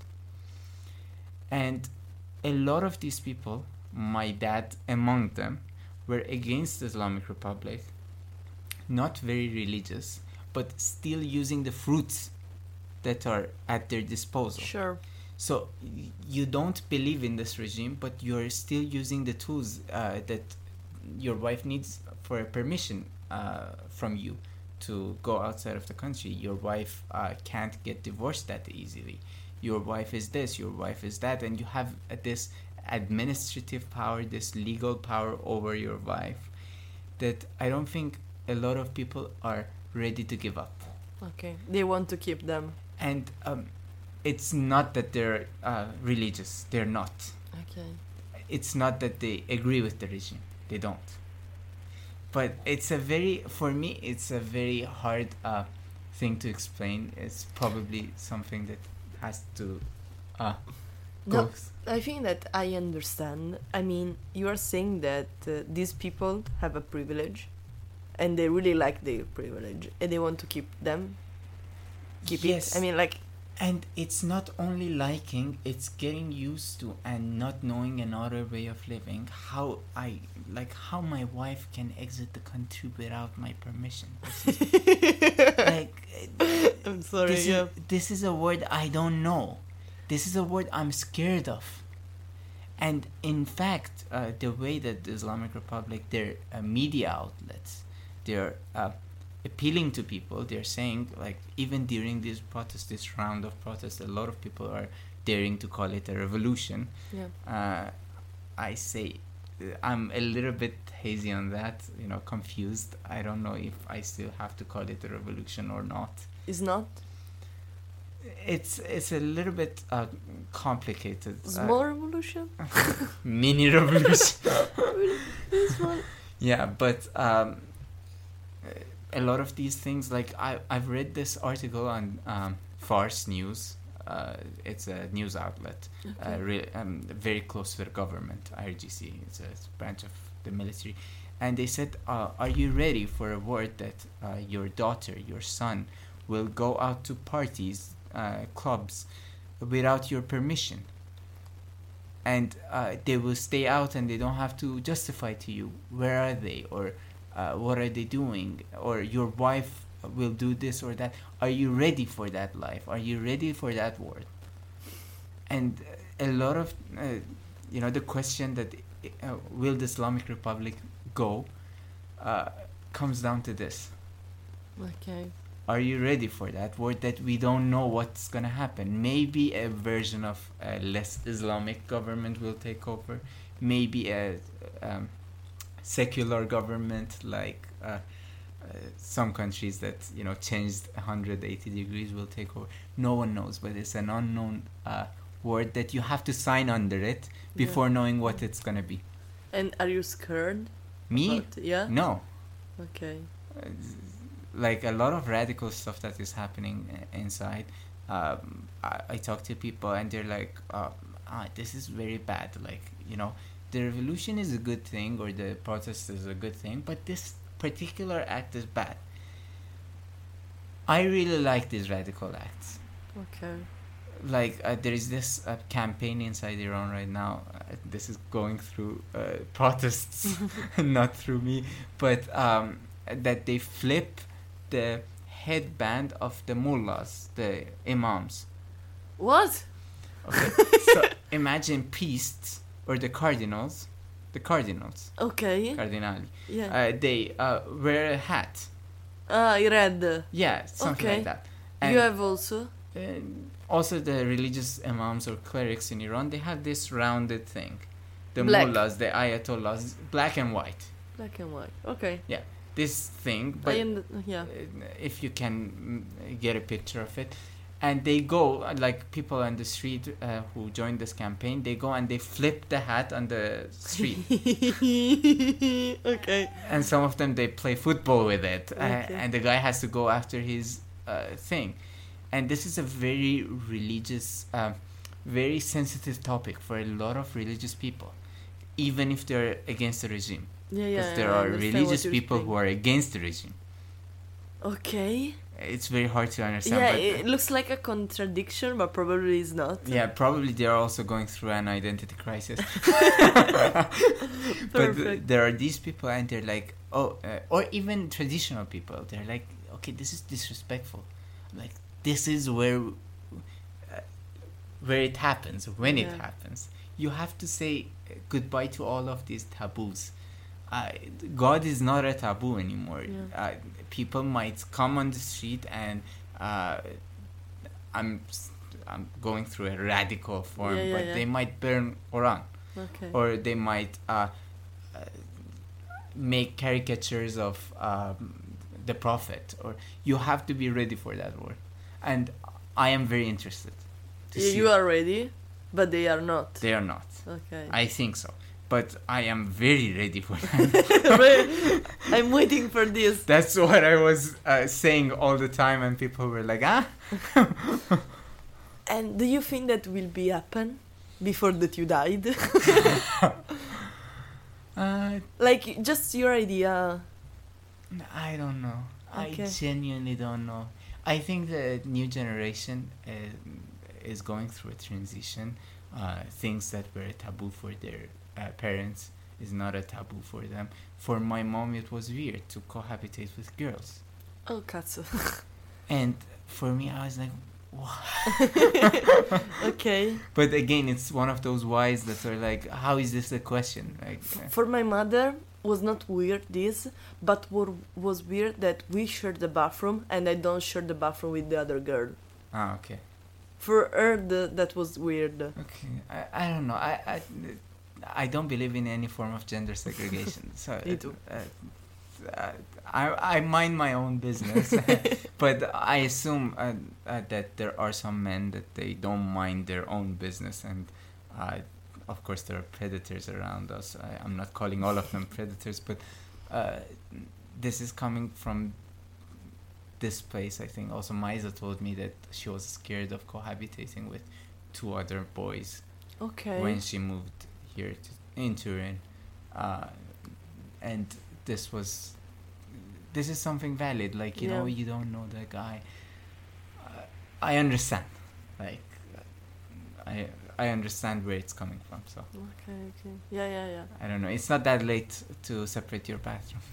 And a lot of these people, my dad among them, were against the Islamic Republic, not very religious, but still using the fruits that are at their disposal. Sure. So y- you don't believe in this regime, but you're still using the tools uh, that your wife needs for a permission uh, from you to go outside of the country. Your wife uh, can't get divorced that easily. Your wife is this, your wife is that, and you have uh, this administrative power, this legal power over your wife that I don't think a lot of people are ready to give up. Okay. They want to keep them. And um, it's not that they're uh, religious. They're not. Okay. It's not that they agree with the regime. They don't. But it's a very, for me, it's a very hard uh, thing to explain. It's probably something that has to uh, go. No, I think that I understand. I mean, you are saying that uh, these people have a privilege and they really like their privilege and they want to keep them. Keep Yes. it. I mean, like, And it's not only liking, it's getting used to and not knowing another way of living. How I, like, how my wife can exit the country without my permission. This is, like, I'm sorry. this, Yeah. is, this is a word I don't know. This is a word I'm scared of. And in fact, uh, the way that the Islamic Republic, their uh, media outlets, they're uh, appealing to people. They're saying, like, even during this protest, this round of protests, a lot of people are daring to call it a revolution. Yeah. Uh, I say, uh, I'm a little bit hazy on that, you know, confused. I don't know if I still have to call it a revolution or not. Is not It's it's a little bit uh, complicated. Uh, small revolution. mini revolution. Small. Yeah, but um, a lot of these things, like I I've read this article on um, Fars News. Uh, it's a news outlet, Okay. uh, re- um, very close to the government. I R G C. It's a branch of the military, and they said, uh, "Are you ready for a word that uh, your daughter, your son, will go out to parties, uh, clubs, without your permission?" And uh, they will stay out and they don't have to justify to you where are they or uh, what are they doing, or your wife will do this or that. Are you ready for that life? Are you ready for that world? And a lot of uh, you know, the question that uh, will the Islamic Republic go uh, comes down to this. Okay. Are you ready for that world that we don't know what's gonna happen? Maybe a version of a less Islamic government will take over. Maybe a um, secular government, like uh, uh, some countries that, you know, changed one hundred eighty degrees, will take over. No one knows, but it's an unknown uh, word that you have to sign under it before yeah. knowing what it's gonna be. And are you scared? Me? About, yeah. No. Okay. Uh, like a lot of radical stuff that is happening uh, inside. Um, I, I talk to people and they're like, uh, ah, this is very bad. Like, you know, the revolution is a good thing, or the protest is a good thing, but this particular act is bad. I really like these radical acts. Okay. Like uh, there is this uh, campaign inside Iran right now. Uh, this is going through uh, protests, not through me, but um, that they flip the headband of the mullahs, the imams. What? Okay, so imagine priests or the cardinals, the cardinals. Okay. Cardinali. Yeah. Uh, they uh, wear a hat. Ah, red. Yeah, something okay. like that. And you have also. Uh, also, the religious imams or clerics in Iran, they have this rounded thing. The black. mullahs, the ayatollahs, black and white. Black and white. Okay. Yeah, this thing. But I am, yeah. if you can mm, get a picture of it, and they go, like people on the street uh, who joined this campaign, they go and they flip the hat on the street. Okay. And some of them, they play football with it, okay. uh, and the guy has to go after his uh, thing. And this is a very religious, um, very sensitive topic for a lot of religious people, even if they're against the regime. Yeah, yeah. Because there I are religious people saying. who are against the regime. Okay. It's very hard to understand. Yeah, but it looks like a contradiction, but probably is not. Yeah, probably they are also going through an identity crisis. But th- there are these people, and they're like, oh, uh, or even traditional people. They're like, okay, this is disrespectful. Like, this is where uh, where it happens, when yeah. it happens. You have to say goodbye to all of these taboos. Uh, God is not a taboo anymore. Yeah. Uh, people might come on the street and uh, I'm I'm going through a radical form, yeah, yeah, but yeah. they might burn Quran, okay. or they might uh, uh, make caricatures of um, the Prophet. Or you have to be ready for that war, and I am very interested. To yeah, see you are ready, but they are not. They are not. Okay. I think so. But I am very ready for that. I'm waiting for this. That's what I was uh, saying all the time, and people were like, ah. And do you think that will be happen before that you died? uh, like, just your idea. I don't know. Okay. I genuinely don't know. I think the new generation uh, is going through a transition. Uh, things that were a taboo for their Uh, parents is not a taboo for them. For my mom, it was weird to cohabitate with girls. Oh, Katsu. And for me, I was like, what? Okay. But again, it's one of those whys that are like, how is this a question? Like, uh, for my mother, was not weird this, but what was weird that we shared the bathroom and I don't share the bathroom with the other girl. Ah, okay. For her, the, that was weird. Okay, I, I don't know. I, I I don't believe in any form of gender segregation. So Me too. Uh, uh, I I mind my own business, but I assume uh, uh, that there are some men that they don't mind their own business, and uh, of course there are predators around us. I, I'm not calling all of them predators, but uh, this is coming from this place. I think also Maiza told me that she was scared of cohabitating with two other boys. Okay. When she moved here to, in Turin, uh, and this was this is something valid. Like, you yeah. know, you don't know the guy. Uh, I understand. Like, I I understand where it's coming from. So Okay, okay. Yeah, yeah, yeah. I don't know. It's not that late to separate your bathroom.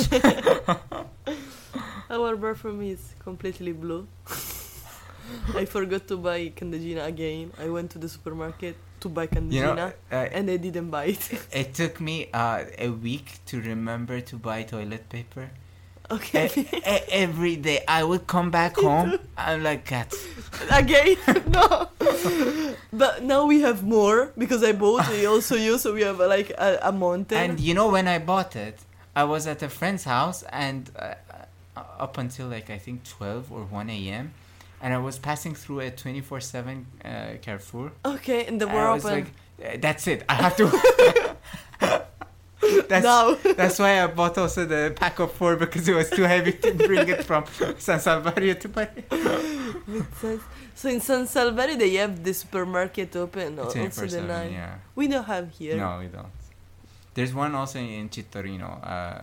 Our bathroom is completely blue. I forgot to buy Candeggina again. I went to the supermarket to buy Candeggina, You know, uh, and I didn't buy it. it took me uh, a week to remember to buy toilet paper. Okay. E- e- every day I would come back home. I'm like, cats. Again? No. But now we have more because I bought. We also use, so we have uh, like a, a mountain. And you know, when I bought it, I was at a friend's house, and uh, uh, up until like I think twelve or one a.m. and I was passing through a twenty-four seven uh, Carrefour. Okay, and the And were I was open. like, "Uh, that's it. I have to. that's Now. that's why I bought also the pack of four, because it was too heavy to bring it from San Salvario to buy. Makes sense. So in San Salvador they have the supermarket open, or also twenty-four the seven, night. yeah. We don't have here. No, we don't. There's one also in Citorino, uh,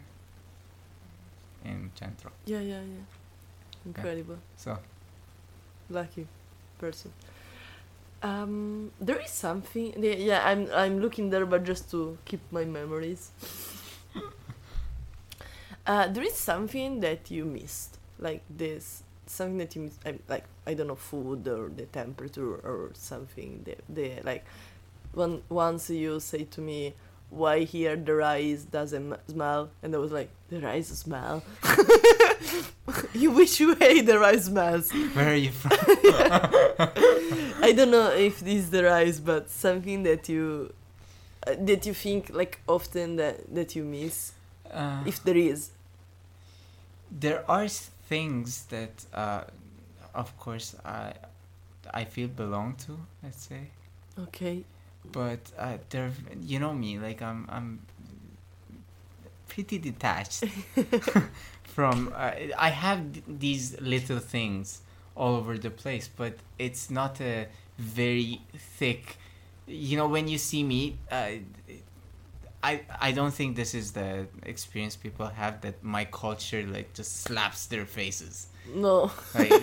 in Centro. Yeah, yeah, yeah. Incredible. So, Lucky person. Um, there is something. Yeah, yeah, I'm I'm looking there, but just to keep my memories. uh, there is something that you missed, like this. Something that you miss, I, like I don't know, food or the temperature or something. The the like, one once you say to me, "Why here the rice doesn't m- smell?" and I was like, "The rice smell." You wish you hate the rice smells. where are you from? I don't know if this is the rice, but something that you uh, that you think like often that that you miss, Uh, if there is. there are s- things that, uh, of course, I I feel belong to. Let's say, Okay. but uh, there, you know me, like I'm I'm pretty detached from. Uh, I have th- these little things all over the place, but it's not a very thick. You know, when you see me, uh, I I don't think this is the experience people have, that my culture like just slaps their faces. No. Like,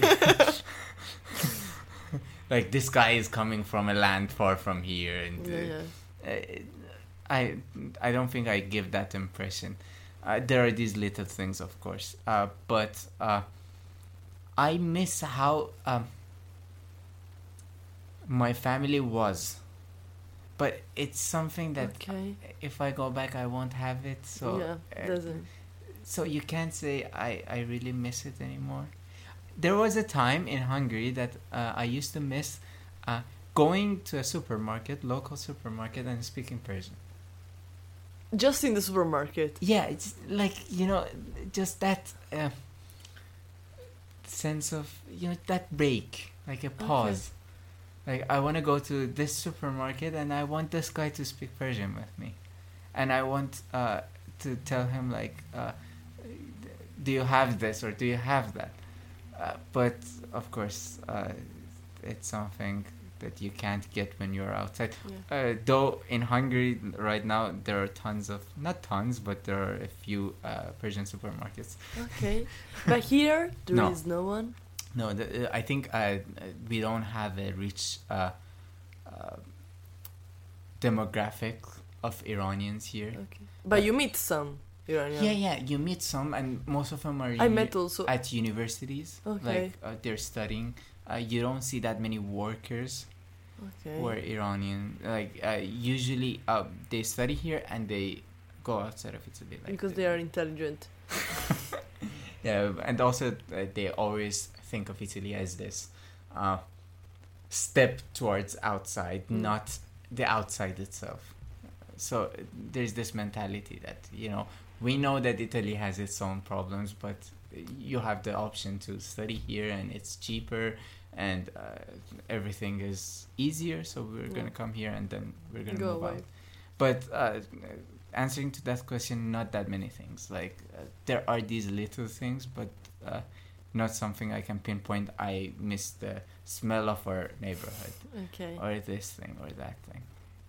like this guy is coming from a land far from here, and uh, Yeah, yeah. uh, I I don't think I give that impression. Uh, there are these little things, of course, uh, but uh, I miss how um, my family was. But it's something that Okay. if I go back, I won't have it. So yeah. uh, Doesn't. so you can't say I, I really miss it anymore. There was a time in Hungary that uh, I used to miss uh, going to a supermarket, local supermarket, and speaking Persian. Just in the supermarket. Yeah, it's like, you know, just that uh, sense of, you know, that break, like a pause. Like, I want to go to this supermarket and I want this guy to speak Persian with me. And I want uh, to tell him, like, uh, do you have this or do you have that? Uh, but, of course, uh, it's something that you can't get when you're outside. Yeah. Uh, though in Hungary right now there are tons of, not tons, but there are a few uh, Persian supermarkets. Okay. But here there is No. no one. No, the, uh, I think uh, we don't have a rich uh, uh, demographic of Iranians here. Okay. But you meet some Iranian. Yeah, yeah, you meet some, and most of them are I uni- met also. at universities. Okay. Like uh, they're studying. Uh, you don't see that many workers Okay. who are Iranian. Like uh, usually, uh, they study here and they go outside of Italy. Like Because they are intelligent. Yeah, and also uh, they always think of Italy as this uh, step towards outside, Mm. not the outside itself. So uh, there's this mentality that, you know, we know that Italy has its own problems, but you have the option to study here and it's cheaper and uh, everything is easier, so we're Yeah. gonna come here and then we're gonna Go move away. out. But uh, answering to that question, not that many things. Like uh, there are these little things, but uh, not something I can pinpoint. I miss the smell of our neighborhood, Okay. or this thing, or that thing.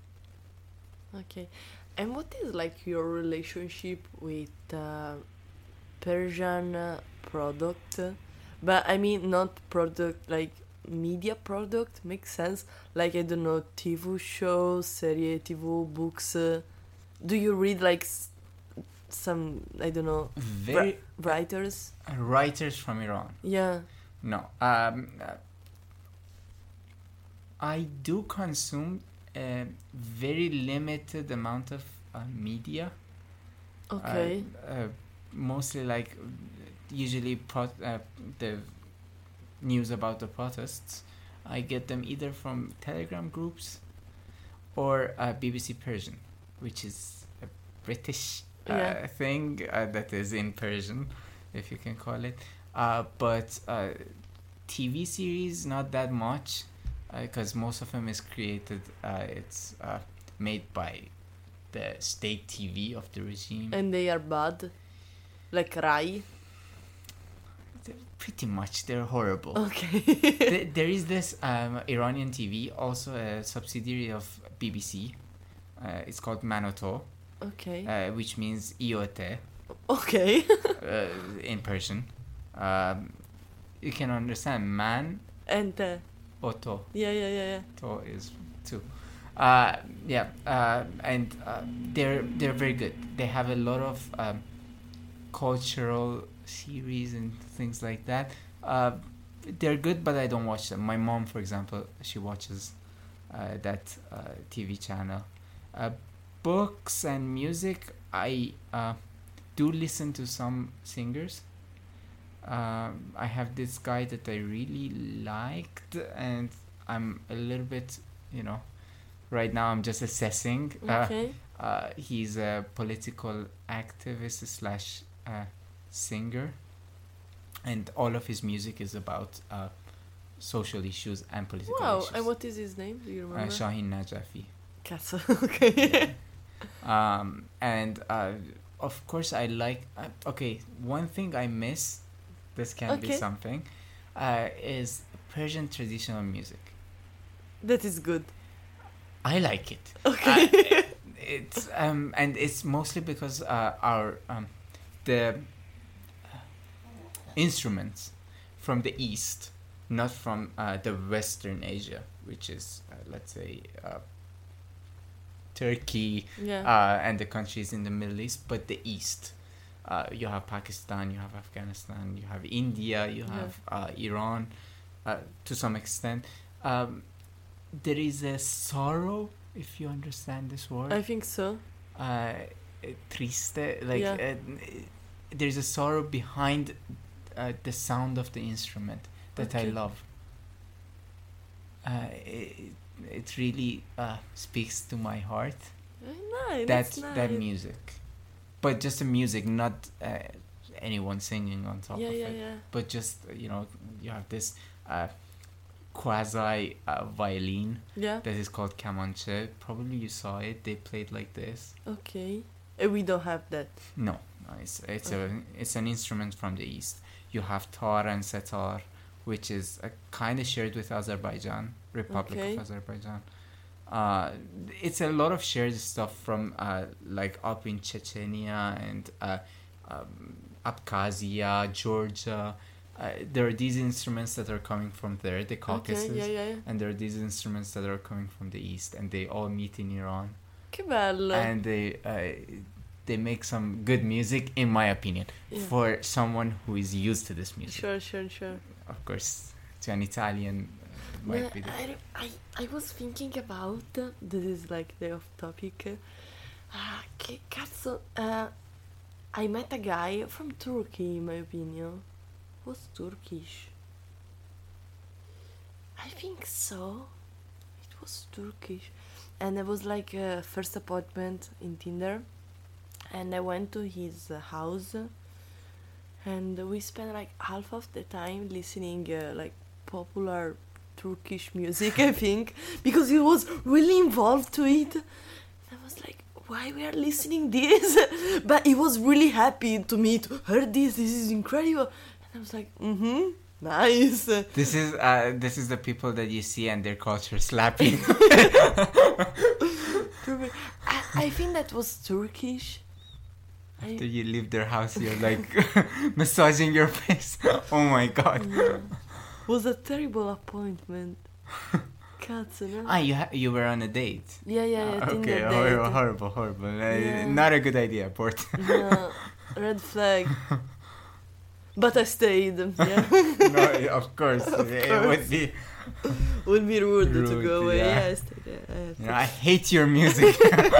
Okay. And what is like your relationship with uh, Persian uh, product? But I mean not product like media product makes sense. Like I don't know, T V shows, serie T V, books. Uh, do you read like s- some I don't know Very ri- writers? writers from Iran. Yeah. No. Um, uh, I do consume a very limited amount of uh, media. Okay. Uh, uh, mostly like usually pro- uh, the news about the protests. I get them either from Telegram groups or uh, B B C Persian, which is a British uh, Yeah. thing uh, that is in Persian, if you can call it. Uh, but uh, T V series, not that much, because most of them is created. Uh, it's uh, made by the state T V of the regime. And they are bad, like Rai. They're pretty much, they're horrible. Okay. Th- there is this um, Iranian T V, also a subsidiary of B B C. Uh, it's called Manoto, Okay. uh, which means Iote Okay. uh, in Persian. Um, you can understand man, And uh, oto, yeah, yeah, yeah, yeah. to is two. Uh, yeah, uh, and uh, they're they're very good. They have a lot of um, cultural series and things like that. Uh, they're good, but I don't watch them. My mom, for example, she watches uh, that uh, T V channel. Uh, books and music, I uh, do listen to some singers. Um, I have this guy that I really liked, and I'm a little bit, you know, right now I'm just assessing. Uh, Okay. uh, he's a political activist slash uh, singer, and all of his music is about uh, social issues and political Wow. issues. And what is his name? Do you uh, remember? Shahin Najafi. Katsu. Okay. Um, and uh, of course, I like. Uh, okay, one thing I miss. This can be Okay. something. Uh, is Persian traditional music. That is good. I like it. Okay. Uh, it's um and it's mostly because uh, our um the instruments from the east, not from uh, the Western Asia, which is uh, let's say uh, Turkey Yeah. uh, and the countries in the Middle East, but the east. Uh, you have Pakistan, you have Afghanistan, you have India, you Yeah. have uh, Iran, uh, to some extent. Um, there is a sorrow, if you understand this word. I think so. Uh, triste, like Yeah. uh, there's a sorrow behind uh, the sound of the instrument that I Okay. love. Uh, it, it really uh, speaks to my heart. Very nice. That That's nice. that music, but just the music, not uh, anyone singing on top Yeah, of yeah, it. yeah. But just uh, you know, you have this uh, quasi uh, violin Yeah. that is called kamanche. Probably you saw it. They played like this. Okay. Uh, we don't have that. No, no it's it's Okay. a it's an instrument from the east. You have tar and setar, which is uh, kind of shared with Azerbaijan, Republic Okay. of Azerbaijan. Uh, it's a lot of shared stuff from uh, like up in Chechnya and uh, um, Abkhazia, Georgia. Uh, there are these instruments that are coming from there, the Caucasus, Okay. Yeah, yeah, yeah. and there are these instruments that are coming from the east, and they all meet in Iran, Che bello. and they uh, they make some good music, in my opinion, Yeah. for someone who is used to this music. Sure, sure, sure. Of course, to an Italian, uh, might Yeah, be. The, I, I, I was thinking about uh, this is like the off topic. Ah, che cazzo! Uh, I met a guy from Turkey, in my opinion. Was Turkish. I think so. It was Turkish, and it was like a first appointment in Tinder, and I went to his uh, house, and we spent like half of the time listening uh, like popular Turkish music, I think, because he was really involved to it. I was like, why we are listening this? But he was really happy to me to hear this. This is incredible. And I was like, mm-hmm, nice. This is uh, this is the people that you see and their culture slapping. I, I think that was Turkish. After I, you leave their house, you're like massaging your face. Oh my god. yeah. Was a terrible appointment. Cazzo, no? Ah, you ha- you were on a date. Yeah, yeah, yeah. Ah, Tinder okay, date. horrible, horrible, horrible. Uh, Yeah. Not a good idea, Port. No, red flag. But I stayed. Yeah, No, of course, Of it course. would be. would be rude, to Rude, go away. yeah. Yeah, I stayed. Yeah, I have You to. know, I hate your music.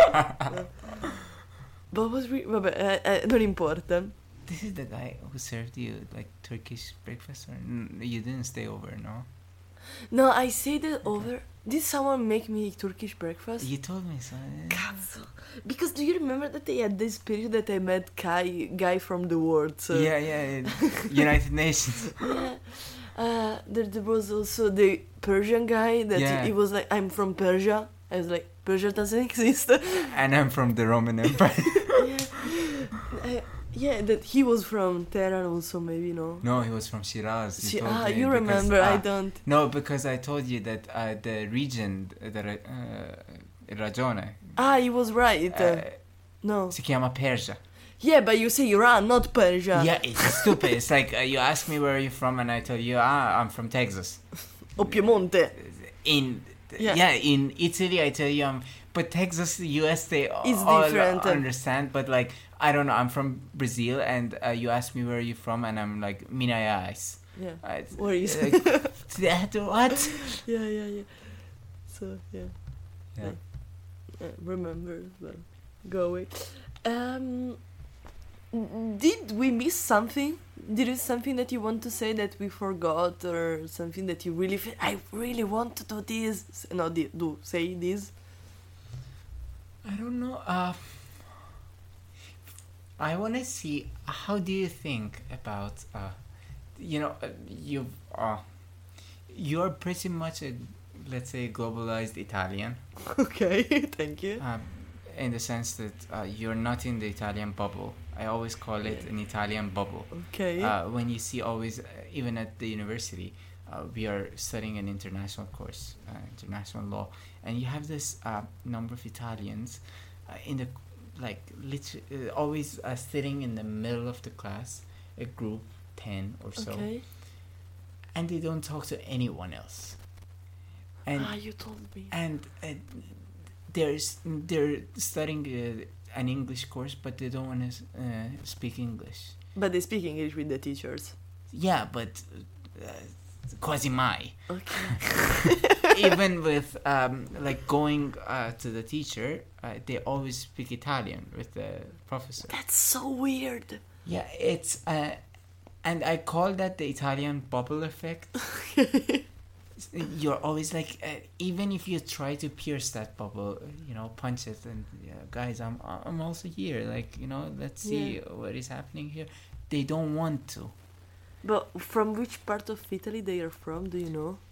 But was re- vabbè, eh, eh, non importa. This is the guy who served you like Turkish breakfast, or n- you didn't stay over, no? No, I stayed it over. Did someone make me Turkish breakfast? You told me so. eh? Cazzo. Because do you remember that they had this period that I met Kai, guy from the world? So. Yeah, yeah, United Nations. Yeah. Uh, there, there was also the Persian guy that Yeah. he was like, I'm from Persia. I was like, Persia doesn't exist. And I'm from the Roman Empire. yeah. Uh, yeah, that he was from Tehran also, maybe, no? No, he was from Shiraz. She, told ah, me you because, remember, I ah, don't. No, because I told you that uh, the region, the Ra- uh, Ragione, Ah, he was right. Uh, uh, no. si chiama Persia. Yeah, but you say Iran, not Persia. Yeah, it's stupid. It's like uh, you ask me where are you from, and I tell you, ah, I'm from Texas. O Piemonte. In Yeah. yeah. in Italy, I tell you, I'm. But Texas, the U S, they It's all different. understand. But like, I don't know. I'm from Brazil, and uh, you ask me where are you from, and I'm like Minas Gerais. Yeah. Uh, it's- Where is like, that what? Yeah, yeah, yeah. So, yeah. Yeah. Uh, remember, well, go away. Um, did we miss something? Did it something that you want to say that we forgot, or something that you really feel? I really want to do this. No, di- do say this. I don't know. Uh, I want to see. How do you think about? Uh, you know, uh, you uh, you're pretty much a, let's say, globalized Italian. Okay, thank you. Um, in the sense that uh, you're not in the Italian bubble. I always call it an Italian bubble. Okay. Uh, when you see always, uh, even at the university, uh, we are studying an international course, uh, international law, and you have this uh, number of Italians uh, in the, like, liter- uh, always uh, sitting in the middle of the class, a group, ten or so, okay. and they don't talk to anyone else. And ah, you told me. and uh, they're s- they're studying uh, an English course, but they don't want to uh, speak English. But they speak English with the teachers. Yeah, but uh, quasi mai. Okay. Even with um, like going uh, to the teacher, uh, they always speak Italian with the professor. That's so weird. Yeah, it's uh, and I call that the Italian bubble effect. You're always like, uh, even if you try to pierce that bubble, uh, you know, punch it, and yeah, guys, I'm I'm also here. Like, you know, let's see Yeah. what is happening here. They don't want to. But from which part of Italy they are from? Do you know?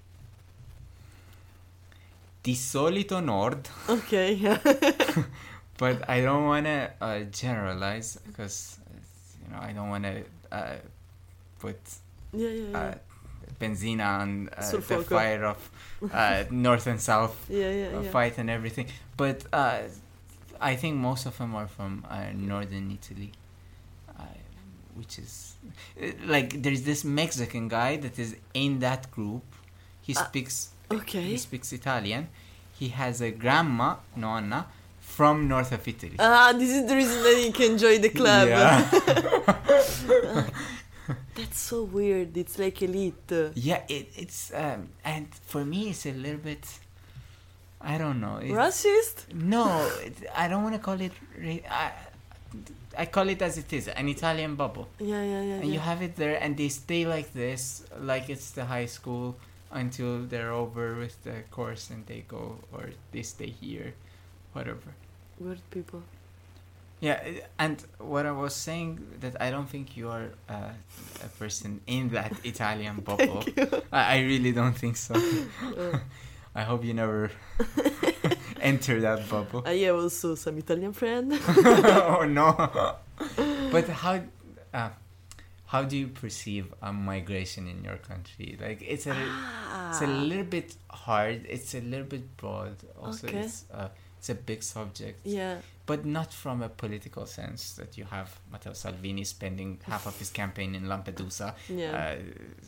Di solito nord, Okay. Yeah. but I don't want to uh, generalize because, uh, you know, I don't want to uh, put yeah, yeah, yeah. uh, benzina on uh, Sul the fuoco. fire of uh, north and south yeah, yeah, uh, yeah. fight and everything. But uh, I think most of them are from uh, northern Italy, uh, which is uh, like there's this Mexican guy that is in that group. He Ah, speaks Okay. he speaks Italian. He has a grandma, nonna, from north of Italy. Ah, this is the reason that you can join the club. Yeah. That's so weird. It's like elite. Yeah, it, it's um, and for me it's a little bit, I don't know. It, Racist? no, it, I don't want to call it. Ra- I, I call it as it is, an Italian bubble, Yeah, yeah, yeah. and yeah. you have it there, and they stay like this, like it's the high school, until they're over with the course, and they go or they stay here, whatever. Weird people. Yeah, uh, and what I was saying that I don't think you are uh, a person in that Italian bubble. Thank you. I, I really don't think so. Uh, I hope you never enter that bubble. I have also some Italian friend. Oh no! But how, uh, how do you perceive uh, migration in your country? Like it's a, it's a Ah. little bit hard. It's a little bit broad. Also, Okay. it's uh, it's a big subject. Yeah. But not from a political sense that you have Matteo Salvini spending half of his campaign in Lampedusa, Yeah. uh,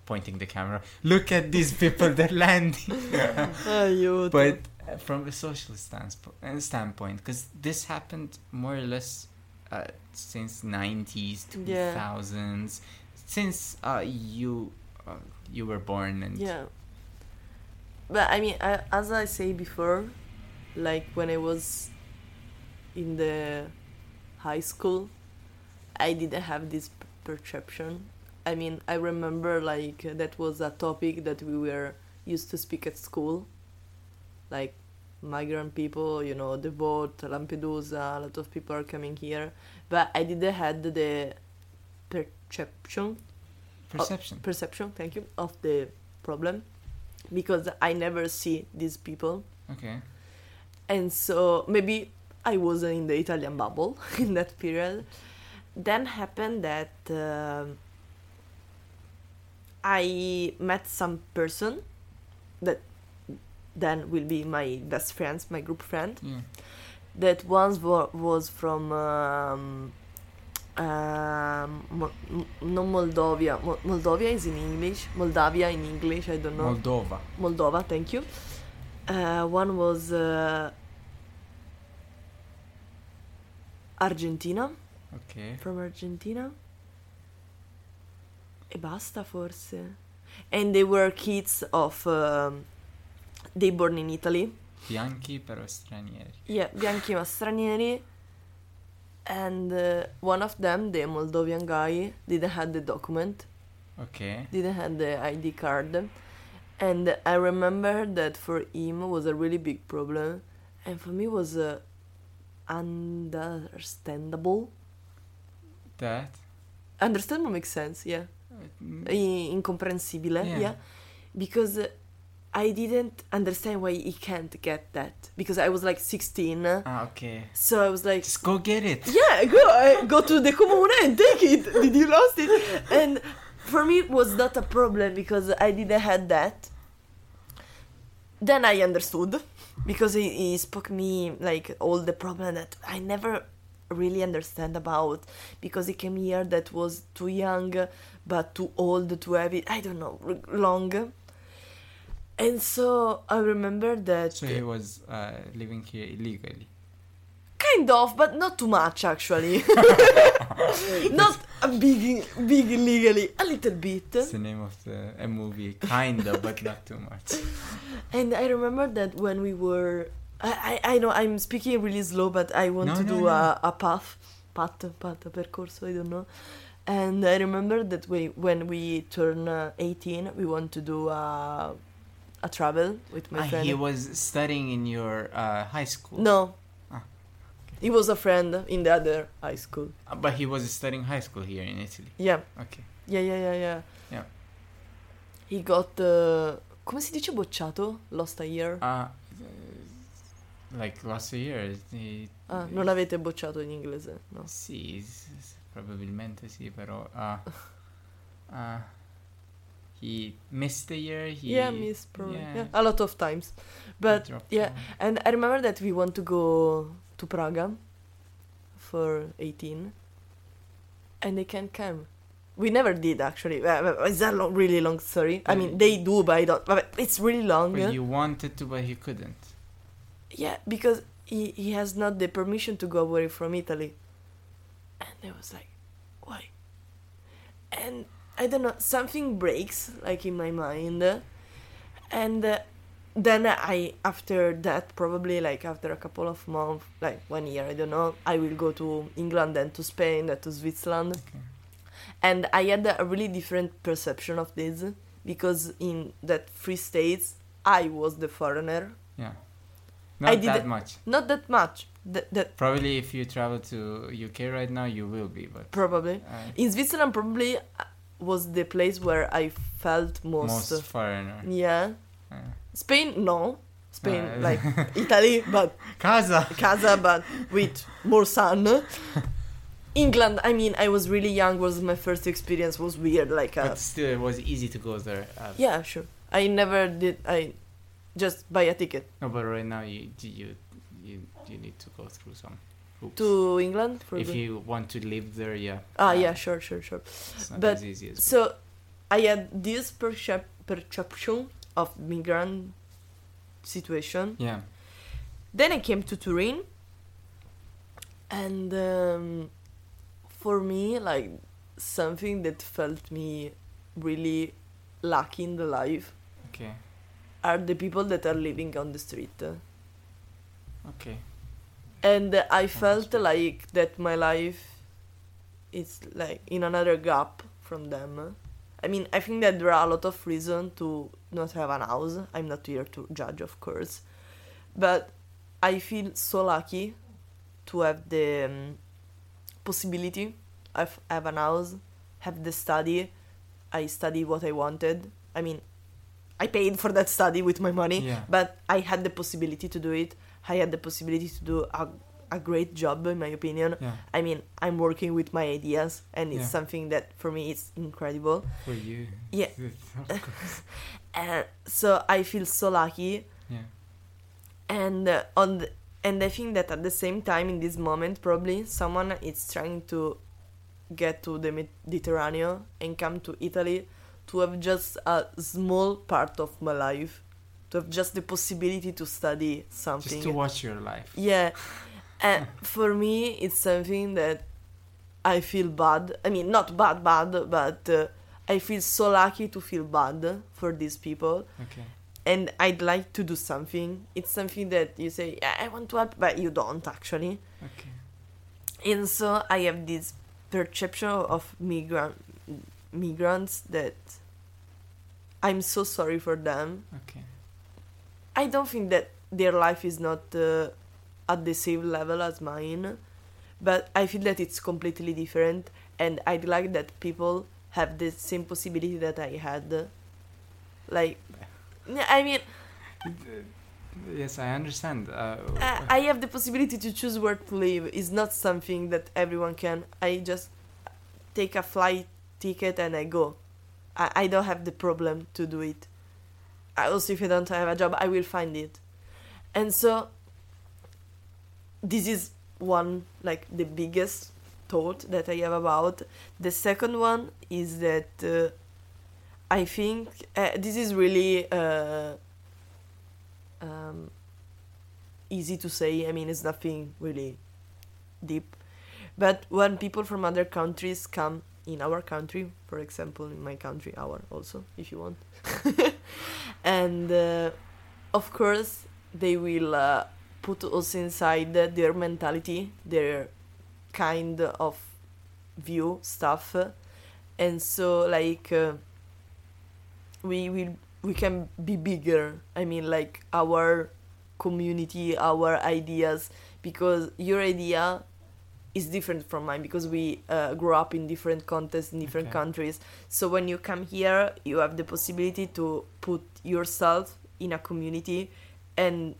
pointing the camera. Look at these people, they're landing. Aiuto. But uh, from a social standspo- uh, standpoint, because this happened more or less uh, since nineties, two thousands, yeah. since uh, you uh, you were born and yeah. But I mean, I, as I say before, like when I was in the high school, I didn't have this p- perception. I mean, I remember like uh, that was a topic that we were used to speak at school, like migrant people, you know, the boat, Lampedusa, a lot of people are coming here, but I didn't had the perception. Perception. Of, perception, thank you, of the problem, because I never see these people. Okay. And so maybe I wasn't in the Italian bubble in that period. Then happened that uh, I met some person that then will be my best friends, my group friend. Yeah. That once wa- was from um, um, Mo- M- not Moldovia. Mo- Moldovia is in English. Moldavia in English. I don't know. Moldova. Moldova. Thank you. Uh, one was uh, Argentina. Okay. From Argentina. E basta forse. And they were kids of um, they born in Italy. Bianchi però stranieri. Yeah, bianchi ma stranieri. And uh, one of them, the Moldovan guy, didn't have the document. Okay. Didn't have the I D card. And I remember that for him was a really big problem. And for me was uh, understandable. That? Understandable makes sense, yeah. Mm. I- incomprensibile, Yeah. yeah. Because uh, I didn't understand why he can't get that. Because I was like sixteen. Ah, okay. So I was like, Just go get it. yeah, go uh, go to the comune and take it. Did you lost it? And for me it was not a problem because I didn't had that. Then I understood because he, he spoke me like all the problem that I never really understand about, because he came here that was too young but too old to have it. I don't know, long. And so I remember that So he was uh, living here illegally. kind of, but not too much actually. Not a big, big illegally, a little bit. It's the name of the a movie, kinda, but not too much. And I remember that when we were, I, I, I know I'm speaking really slow, but I want No, to no, do no. a, a path, path, path, percorso, I don't know. And I remember that we, when we turn uh, eighteen, we want to do a, a travel with my Ah, friend. he was studying in your uh, high school. No. Ah. He was a friend in the other high school. Uh, But he was studying high school here in Italy. Yeah. Okay. Yeah, yeah, yeah, yeah. Yeah. He got, uh, come si dice bocciato? Lost a year? Uh, like last year, he, Ah, non avete bocciato in inglese, no? sì, s- s- probabilmente sì, però uh, uh, he missed a year. He, Yeah, miss probably. yeah. Yeah. a lot of times. he But dropped yeah, out. and I remember that we want to go to Praga for eighteen, and they can't come. We never did actually. Uh, It's a long, really long story. I mean, they do, but I don't. But it's really long. But you wanted to, but you couldn't. Yeah, because he, he has not the permission to go away from Italy. And I was like, why? And I don't know, something breaks like in my mind. And uh, then I, after that, probably like after a couple of months, like one year, I don't know, I will go to England, then to Spain, then to Switzerland. Okay. And I had a really different perception of this, because in that three states, I was the foreigner. Yeah. I Not that didn't- much. Not that much. That, that Probably if you travel to U K right now, you will be, but probably. uh, In Switzerland, probably uh, was the place where I felt most. most foreigner. Yeah. Uh, Spain, no. Spain, Uh, like Italy, but Casa. casa, but with more sun. England, I mean, I was really young. Was my first experience. Was weird, like. Uh, But still, it was easy to go there. Uh, yeah, sure. I never did. I just buy a ticket No, but right now you you you you need to go through some hoops. to England for if the. you want to live there, yeah. Ah, uh, yeah, sure, sure, sure. It's not but- as easy as. So, I had this percep- perception of migrant situation. Yeah. Then I came to Turin, and um, for me, like something that felt me really lucky in the life Okay. are the people that are living on the street. Okay. And I felt street. like that my life is like in another gap from them. I mean, I think that there are a lot of reasons to not have an house. I'm not here to judge, of course. But I feel so lucky to have the um, possibility of have an house, have the study. I study what I wanted. I mean, I paid for that study with my money, Yeah. but I had the possibility to do it. I had the possibility to do a, a great job, in my opinion. Yeah. I mean, I'm working with my ideas, and it's Yeah. something that for me is incredible. For you. Yeah. Of course. And so I feel so lucky, Yeah. and uh, on the, and I think that at the same time, in this moment, probably someone is trying to get to the Mediterranean and come to Italy to have just a small part of my life, to have just the possibility to study something. Just to watch your life. Yeah, and for me, it's something that I feel bad. I mean, not bad, bad, but uh, I feel so lucky to feel bad for these people. Okay. And I'd like to do something. It's something that you say, yeah, I want to help, but you don't actually. Okay. And so I have this perception of migrant migrants that I'm so sorry for them. Okay. I don't think that their life is not uh, at the same level as mine, but I feel that it's completely different, and I'd like that people have the same possibility that I had. Like, I mean, Yes, I understand. Uh, I I have the possibility to choose where to live. It's not something that everyone can. I just take a flight ticket and I go. I, I don't have the problem to do it. I also, if I don't have a job, I will find it. And so, this is one, like, the biggest thought that I have about. The second one is that uh, I think uh, this is really uh, um, easy to say. I mean, it's nothing really deep. But when people from other countries come in our country, for example, in my country, our also, if you want, and uh, of course they will uh, put us inside their mentality, their kind of view stuff, and so like uh, we will we can be bigger. I mean, like our community, our ideas, because your idea is different from mine, because we uh, grew up in different contexts in different Okay. countries. So when you come here, you have the possibility to put yourself in a community and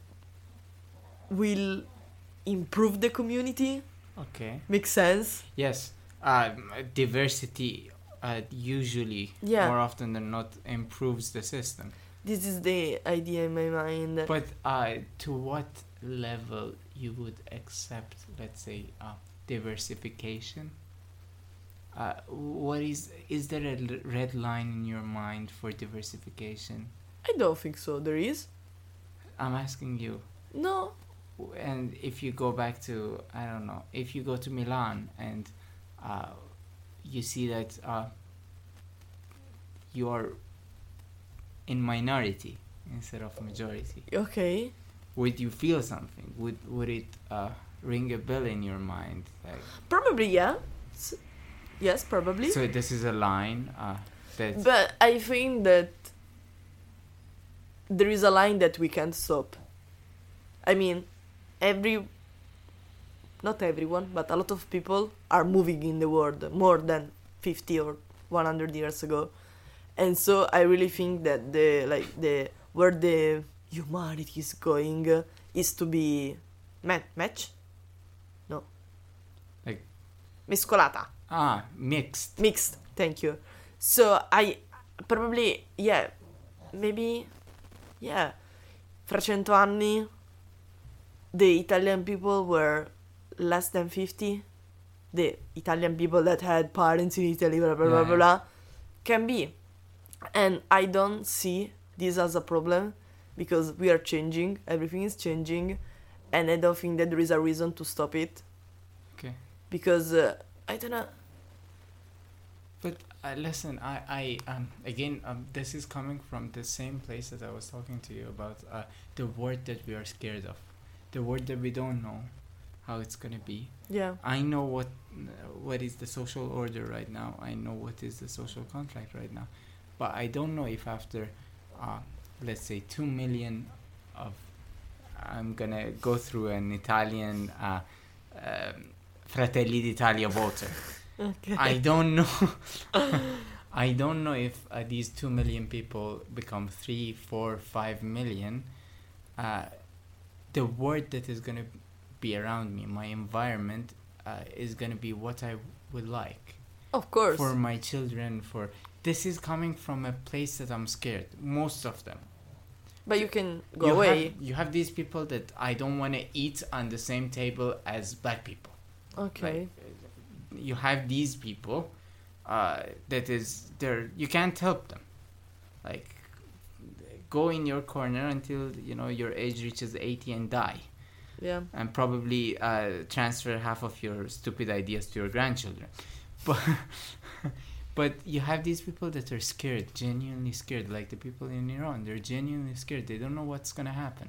will improve the community. okay. Makes sense? Yes. Um, diversity uh, usually, Yeah. more often than not, improves the system. This is the idea in my mind. But uh, to what level you would accept, let's say, uh, diversification? Uh, what is is there a l- red line in your mind for diversification? I don't think so. There is? I'm asking you. No. And if you go back to, I don't know, if you go to Milan and uh, you see that uh, you're in minority instead of majority, Okay. would you feel something? Would would it uh, ring a bell in your mind? Like, Probably, yeah. S- yes, probably. so this is a line uh, that But I think that there is a line that we can't stop. I mean, every, not everyone, but a lot of people are moving in the world more than fifty or one hundred years ago. And so I really think that the, like, the, where the humanity is going uh, is to be ma- match? No. Like- Mescolata. ah mixed. Mixed, thank you. So I probably, yeah, maybe, yeah, fra cento anni the Italian people were less than fifty. The Italian people that had parents in Italy, blah blah Yeah, blah yeah. blah, blah, can be. And I don't see this as a problem because we are changing, everything is changing, and I don't think that there is a reason to stop it. Okay. Because uh, I don't know. But uh, listen, I, I um again um this is coming from the same place that I was talking to you about, uh the word that we are scared of, the word that we don't know how it's gonna be. Yeah. I know what uh, what is the social order right now. I know what is the social contract right now, but I don't know if after, uh, let's say two million of, I'm gonna go through an Italian uh, um, Fratelli d'Italia voter. Okay. I don't know. I don't know if uh, these two million people become three, four, five million. Uh, the word that is gonna be around me, my environment, uh, is gonna be what I would like. Of course. For my children, for this is coming from a place that I'm scared. Most of them. But you can go you away. Have, you have these people that I don't want to eat on the same table as black people. Okay. Like, you have these people uh, that is there. You can't help them. Like, go in your corner until you know your age reaches eighty and die. Yeah. And probably uh, transfer half of your stupid ideas to your grandchildren. But but you have these people that are scared, genuinely scared, like the people in Iran. They're genuinely scared. They don't know what's gonna happen.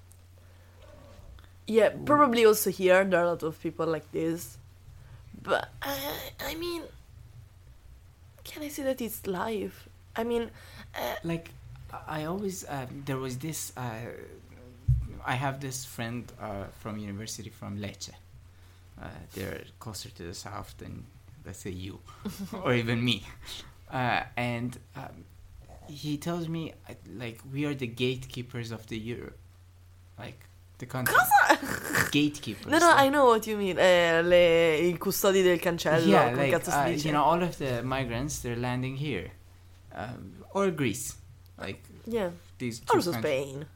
Yeah, probably also here there are a lot of people like this. But uh, I mean, can I say that it's life? I mean, uh, like I always uh, there was this. Uh, I have this friend uh, from university from Lecce. Uh, they're closer to the south than, let's say, you or even me. Uh, and um, he tells me, uh, like, we are the gatekeepers of the Europe. Like, the country. Gatekeepers. no, no, like, I know what you mean. Eh, le, I custodi del cancello. yeah, come like, cazzo si uh, dice? you know, all of the migrants, they're landing here. Um, or Greece. Like, Yeah. these two Also countries. Spain.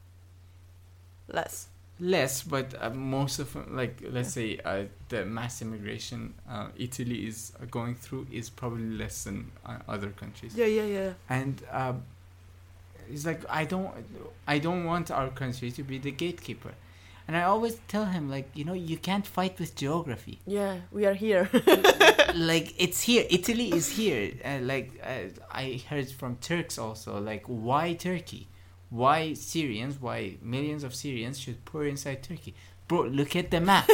Less. Less, but uh, most of them, like, let's say uh, the mass immigration uh, Italy is uh, going through is probably less than uh, other countries. Yeah, yeah, yeah. And uh, it's like I don't, I don't want our country to be the gatekeeper. And I always tell him, like, you know, you can't fight with geography. Yeah, we are here. Like, it's here. Italy is here. Uh, like, uh, I heard from Turks also, like, why Turkey? Why Syrians, why millions of Syrians should pour inside Turkey? Bro, look at the map.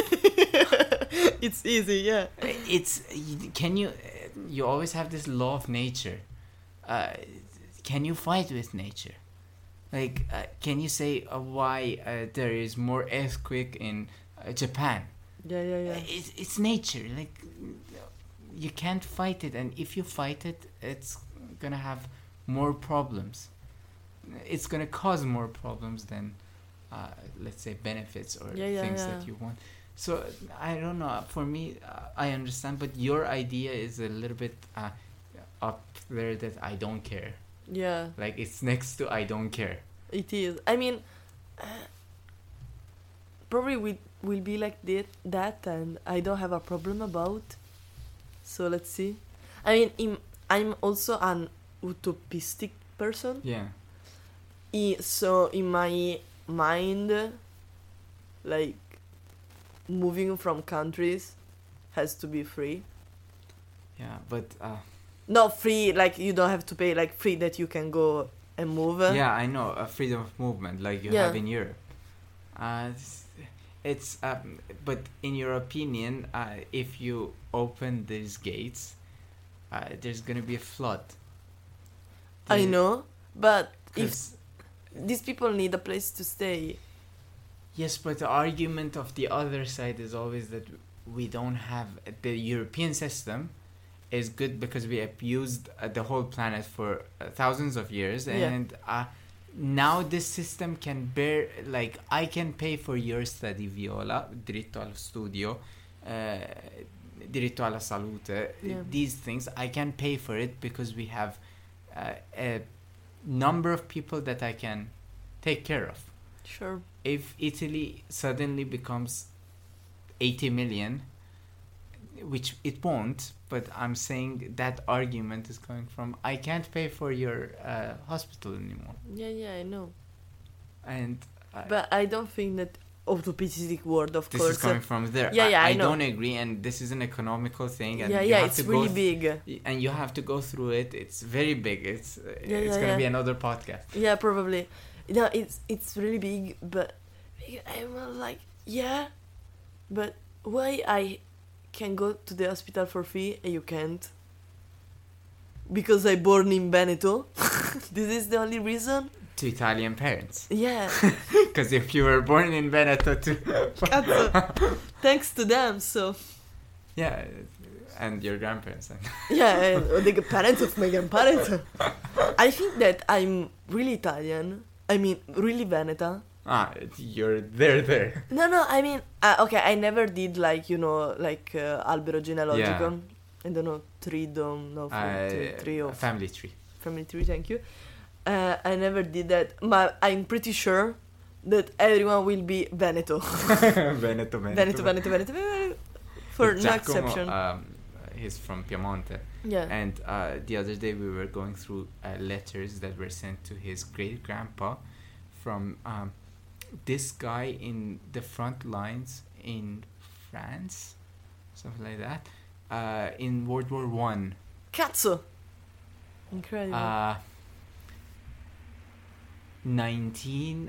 It's easy, yeah. It's, can you, you always have this law of nature. Uh, can you fight with nature? Like, uh, can you say uh, why uh, there is more earthquake in uh, Japan? Yeah, yeah, yeah. It's, it's nature. Like, you can't fight it. And if you fight it, it's going to have more problems. It's going to cause more problems than, uh, let's say, benefits or Yeah, yeah, things yeah. that you want. So, I don't know. For me, uh, I understand. But your idea is a little bit uh, up there that I don't care. Yeah, Like, it's next to I don't care. it is. I mean, uh, probably we will be like that, that, and I don't have a problem about. So let's see. I mean, im I'm also an utopistic person. Yeah. I, so in my mind, like, moving from countries has to be free. Yeah, but... Uh, Not free, like you don't have to pay, like free that you can go and move. yeah, I know. Uh, freedom of movement, like you Yeah. have in Europe. Uh, it's, it's um, but in your opinion, uh, if you open these gates, uh, there's gonna be a flood. I The- know, but if 'cause- these people need a place to stay. yes, but the argument of the other side is always that we don't have the European system is good because we abused uh, the whole planet for uh, thousands of years, Yeah. and uh, now this system can bear, like, I can pay for your study, Viola, diritto allo studio, uh, diritto alla salute, Yeah. these things, I can pay for it because we have uh, a number of people that I can take care of. Sure. If Italy suddenly becomes eighty million, which it won't. But I'm saying that argument is coming from I can't pay for your uh, hospital anymore. Yeah, yeah, I know. And I, But I don't think that orthopedic word, of this course. is coming from there. Yeah, yeah, I, I I know. don't agree, and this is an economical thing. And yeah, you yeah, have it's to really go th- big, and you have to go through it. It's very big. It's uh, Yeah, it's yeah, gonna yeah. be another podcast. Yeah, probably. No, it's it's really big, but I'm like, yeah, but why I can go to the hospital for free and you can't? Because I born in Veneto. This is the only reason. To Italian parents, Yeah, because if you were born in Veneto, too, Cazzo. Thanks to them. So yeah, and your grandparents. yeah, and the parents of my grandparents. I think that I'm really Italian. I mean, really Veneta. Ah, you're there, there. No, no, I mean, uh, okay, I never did like, you know, like uh, albero genealogical. Yeah. I don't know, three, don't know, four, Uh, three, three or family tree. family tree, thank you. Uh, I never did that, but I'm pretty sure that everyone will be Veneto. Veneto, Veneto, Veneto, Veneto, Veneto, Veneto, for But no Giacomo, exception. Um, he's from Piemonte. Yeah. And uh, the other day we were going through uh, letters that were sent to his great grandpa from um, this guy in the front lines in France, something like that, uh, in World War One. Cazzo! Incredible. Uh, nineteen.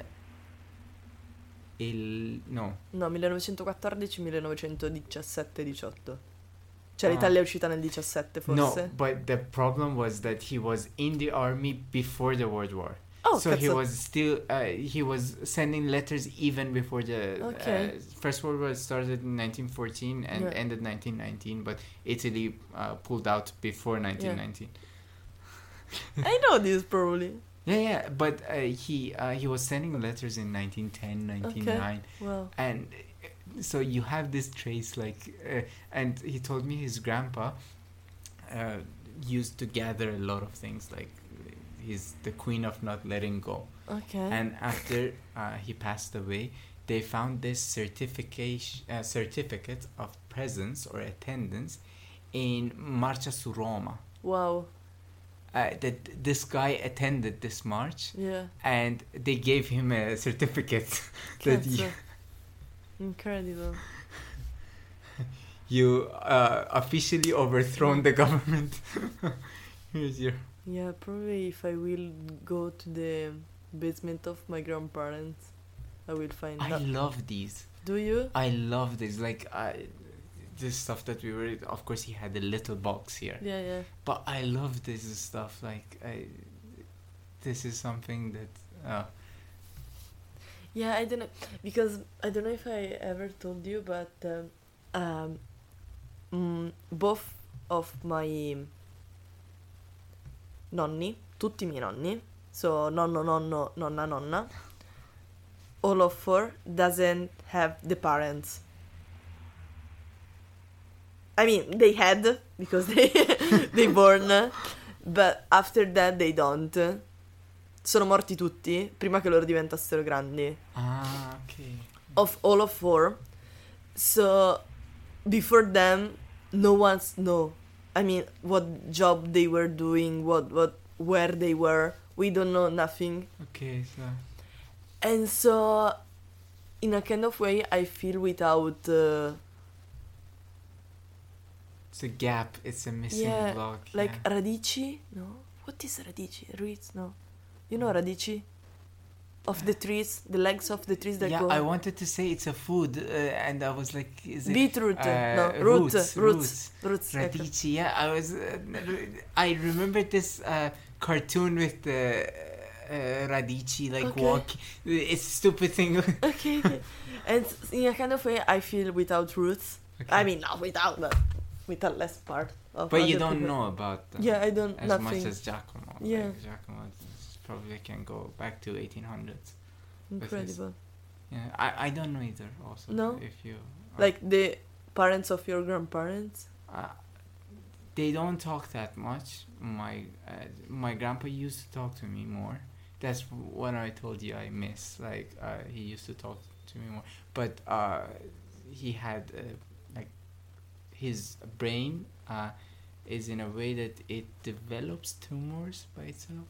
Il no. No, millenovecentoquattordici, millenovecentodiciassette, diciotto. Cioè Ah. l'Italia è uscita nel diciassette forse? No, but the problem was that he was in the army before the World War. Oh, so he cazzo. was still uh, he was sending letters even before the Okay. uh, First World War started in nineteen fourteen and Yeah. ended nineteen nineteen, but Italy uh, pulled out before nineteen nineteen. I know this probably. Yeah, yeah, but uh, he uh, he was sending letters in nineteen ten, nineteen oh nine, Wow. and uh, so you have this trace like, uh, and he told me his grandpa uh, used to gather a lot of things like. He's the queen of not letting go. Okay. And after uh, he passed away, they found this certification, uh, certificate of presence or attendance in Marcia su Roma. Wow. Uh, that this guy attended this march, Yeah. and they gave him a certificate that you, Cazzo. Incredible. you uh, officially overthrown the government. Here's your. Yeah, probably if I will go to the basement of my grandparents, I will find I out. love these. Do you? I love this. Like I, this stuff that we were. Of course, he had a little box here. Yeah, yeah. But I love this stuff. Like I, this is something that. Uh, Yeah, I don't know because I don't know if I ever told you, but um, um, mm, both of my nonni, tutti i miei nonni, so nonno, nonno, nonna, nonna, all of four doesn't have the parents. I mean, they had because they they born, but after that they don't. Sono morti tutti prima che loro diventassero grandi. ah, okay. Of all of four. So before them, no one's know. I mean, what job they were doing, what what where they were. We don't know nothing. Okay, so. And so, in a kind of way, I feel without. Uh, It's a gap. It's a missing yeah, block. like yeah. radici. No, what is radici? Roots? No, you know radici. Of the trees, the legs of the trees that yeah, go. I wanted to say it's a food, uh, and I was like, is it Beetroot, uh, no, roots, roots, roots, roots, ecco. Radici. Yeah, I was. Uh, I remember this uh, cartoon with the uh, Radici like Okay. walking. It's a stupid thing. Okay, okay. And in a kind of way, I feel without roots. Okay. I mean, not without, but with a less part of. But you other don't people. know about them Yeah, I don't. as nothing. much as Giacomo. Yeah. Like, Giacomo probably can go back to eighteen hundreds. Incredible. Yeah, I, I don't know either. Also, No? if you Like the parents of your grandparents. uh, they don't talk that much. My uh, my grandpa used to talk to me more. That's what I told you I miss. Like uh, he used to talk to me more, but uh, he had uh, like his brain uh, is in a way that it develops tumors by itself.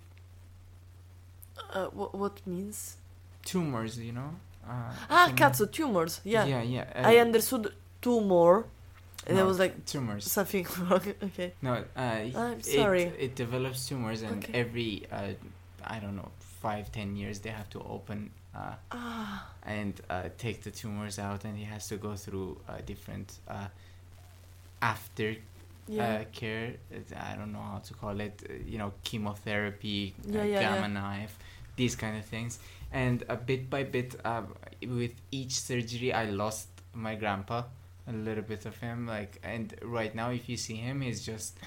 Uh, what what means? Tumors, you know. Uh, Ah, tumor- cazzo, tumors. Yeah, Yeah, yeah. uh, I understood tumor, and I no, was like tumors. something wrong. Okay. No, uh, I'm sorry. It, it develops tumors, and Okay. every uh, I don't know, five, ten years they have to open uh, Ah, and uh, take the tumors out, and he has to go through uh, different uh, after yeah. uh, care. uh, I don't know how to call it. Uh, you know, chemotherapy, Yeah, uh, yeah, gamma yeah. knife, these kind of things. And uh, bit by bit, uh, with each surgery, I lost my grandpa, a little bit of him. Like, and right now, if you see him, he's just.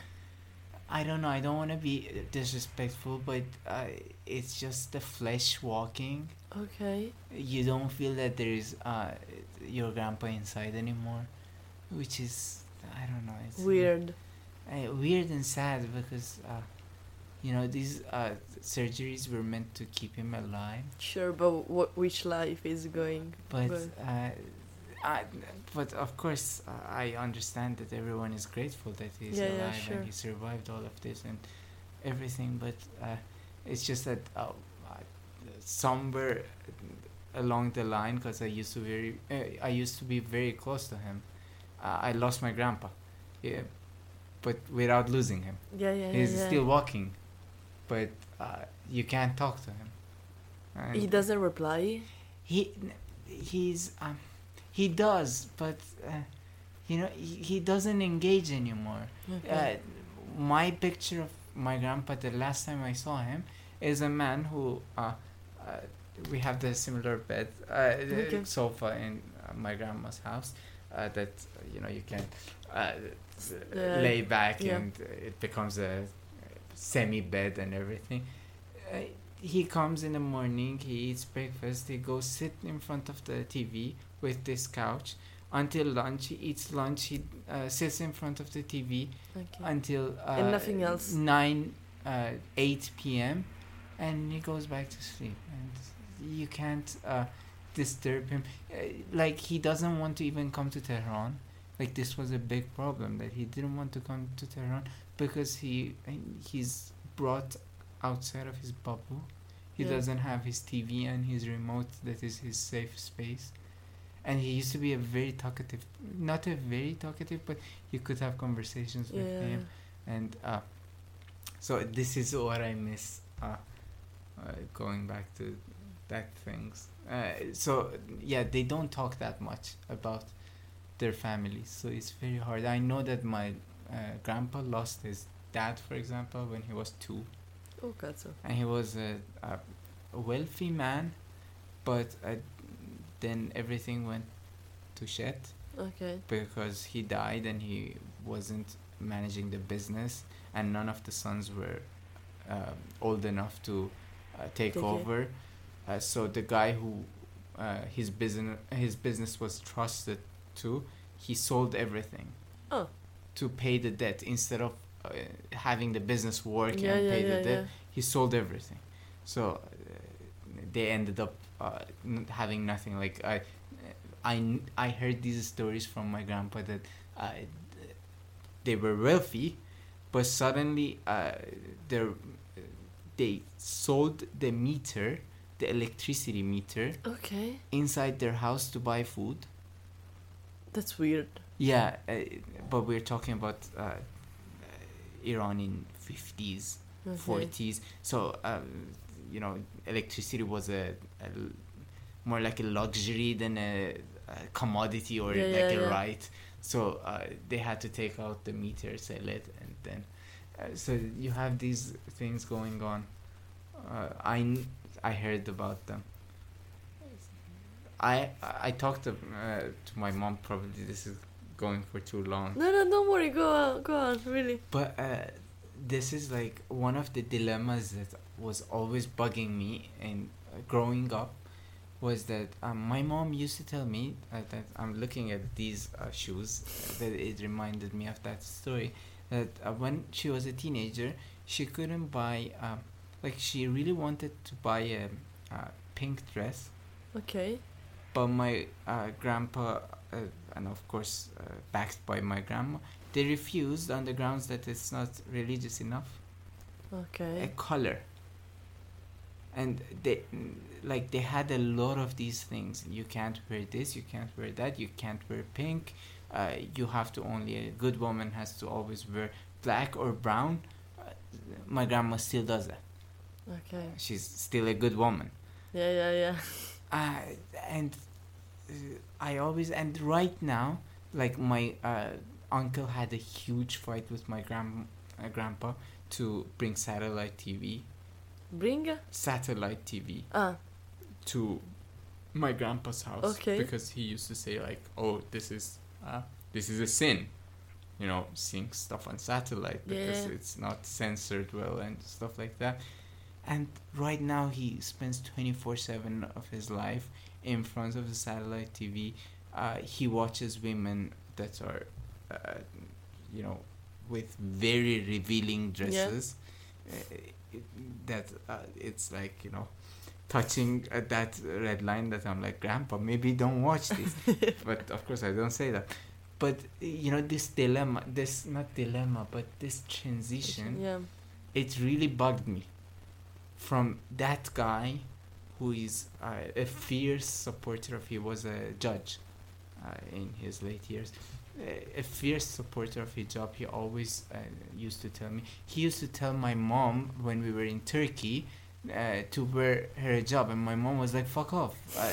I don't know. I don't want to be disrespectful, but uh, it's just the flesh walking. Okay. You don't feel that there's uh, your grandpa inside anymore, which is I don't know. It's Weird. uh, weird and sad because uh, you know these uh, surgeries were meant to keep him alive, Sure, but what which life is going? but But- uh, I, but of course uh, I understand that everyone is grateful that he's Yeah, yeah, alive sure. and he survived all of this and everything. But uh, it's just that uh, uh, somewhere along the line, because I used to very uh, I used to be very close to him. Uh, I lost my grandpa, yeah, but without losing him. Yeah, yeah, He's yeah. yeah. still walking, but uh, you can't talk to him. And He doesn't reply. He, he's um, he does, but uh, you know he, he doesn't engage anymore. Okay. Uh, my picture of my grandpa the last time I saw him is a man who uh, uh we have the similar bed, uh, the Okay. sofa in uh, my grandma's house uh, that you know you can uh, Uh, lay back yeah. and it becomes a semi bed and everything. Uh, he comes in the morning, he eats breakfast, he goes sit in front of the T V with this couch until lunch. He eats lunch, he uh, sits in front of the T V Okay. until uh, And nothing else? nine, uh, eight p.m. and he goes back to sleep. And you can't uh, disturb him. Uh, like he doesn't want to even come to Tehran. Like this was a big problem that he didn't want to come to Tehran because he he's brought outside of his bubble. He Yeah. doesn't have his T V and his remote that is his safe space. And he used to be a very talkative, not a very talkative, but you could have conversations with Yeah. him. And uh, so this is what I miss. Uh, uh, going back to that things. Uh, so yeah, they don't talk that much about their families. So it's very hard. I know that my uh, grandpa lost his dad, for example, when he was two. Oh, cazzo. And he was a, a wealthy man, but uh, then everything went to shit Okay. because he died and he wasn't managing the business, and none of the sons were uh, old enough to uh, take Take it. over. Uh, so the guy who uh, his business his business was trusted to, he sold everything Oh. to pay the debt instead of uh, having the business work Yeah, and yeah, pay yeah, the debt. yeah. He sold everything, so uh, they ended up uh, n- having nothing. Like I, I, kn- I heard these stories from my grandpa that uh, they were wealthy, but suddenly uh, they they sold the meter, the electricity meter, Okay. inside their house to buy food. That's weird. Yeah, uh, but we're talking about uh, Iran in fifties. Okay. forties. So um, you know, electricity was a, a l- more like a luxury than a, a commodity or Yeah, like yeah, a yeah. right. So uh, they had to take out the meter, sell it, and then uh, so you have these things going on. Uh, I kn- I heard about them. I I talked to uh, to my mom. Probably this is going for too long. No, no, don't worry. Go on. Go on. Really. But uh, this is like one of the dilemmas that was always bugging me and uh, growing up was that um, my mom used to tell me uh, that I'm looking at these uh, shoes uh, that it reminded me of that story that uh, when she was a teenager she couldn't buy um, like she really wanted to buy a, a pink dress, Okay. but my uh, grandpa, uh, and of course uh, backed by my grandma, they refused on the grounds that it's not religious enough. Okay. A color. And they like they had a lot of these things. You can't wear this, you can't wear that, you can't wear pink. Uh, you have to only a good woman has to always wear black or brown. Uh, my grandma still does that. Okay. She's still a good woman. Yeah, yeah, yeah. Uh, and uh, I always and right now, like my uh, uncle had a huge fight with my grand uh, grandpa to bring satellite T V. Bring? Satellite T V. Ah. To my grandpa's house. Okay. Because he used to say like, "Oh, this is uh, this is a sin." You know, seeing stuff on satellite because yeah. it's not censored well and stuff like that. And right now he spends twenty-four seven of his life in front of the satellite T V. Uh, he watches women that are, uh, you know, with very revealing dresses. Yeah. Uh, it, that uh, it's like, you know, touching uh, that red line that I'm like, Grandpa, maybe don't watch this. But of course I don't say that. But, you know, this dilemma, this, not dilemma, but this transition, yeah. it really bugged me. From that guy who is uh, a fierce supporter of, he was a judge uh, in his late years, a, a fierce supporter of hijab. He always uh, used to tell me, he used to tell my mom when we were in Turkey uh, to wear her hijab, and my mom was like, fuck off,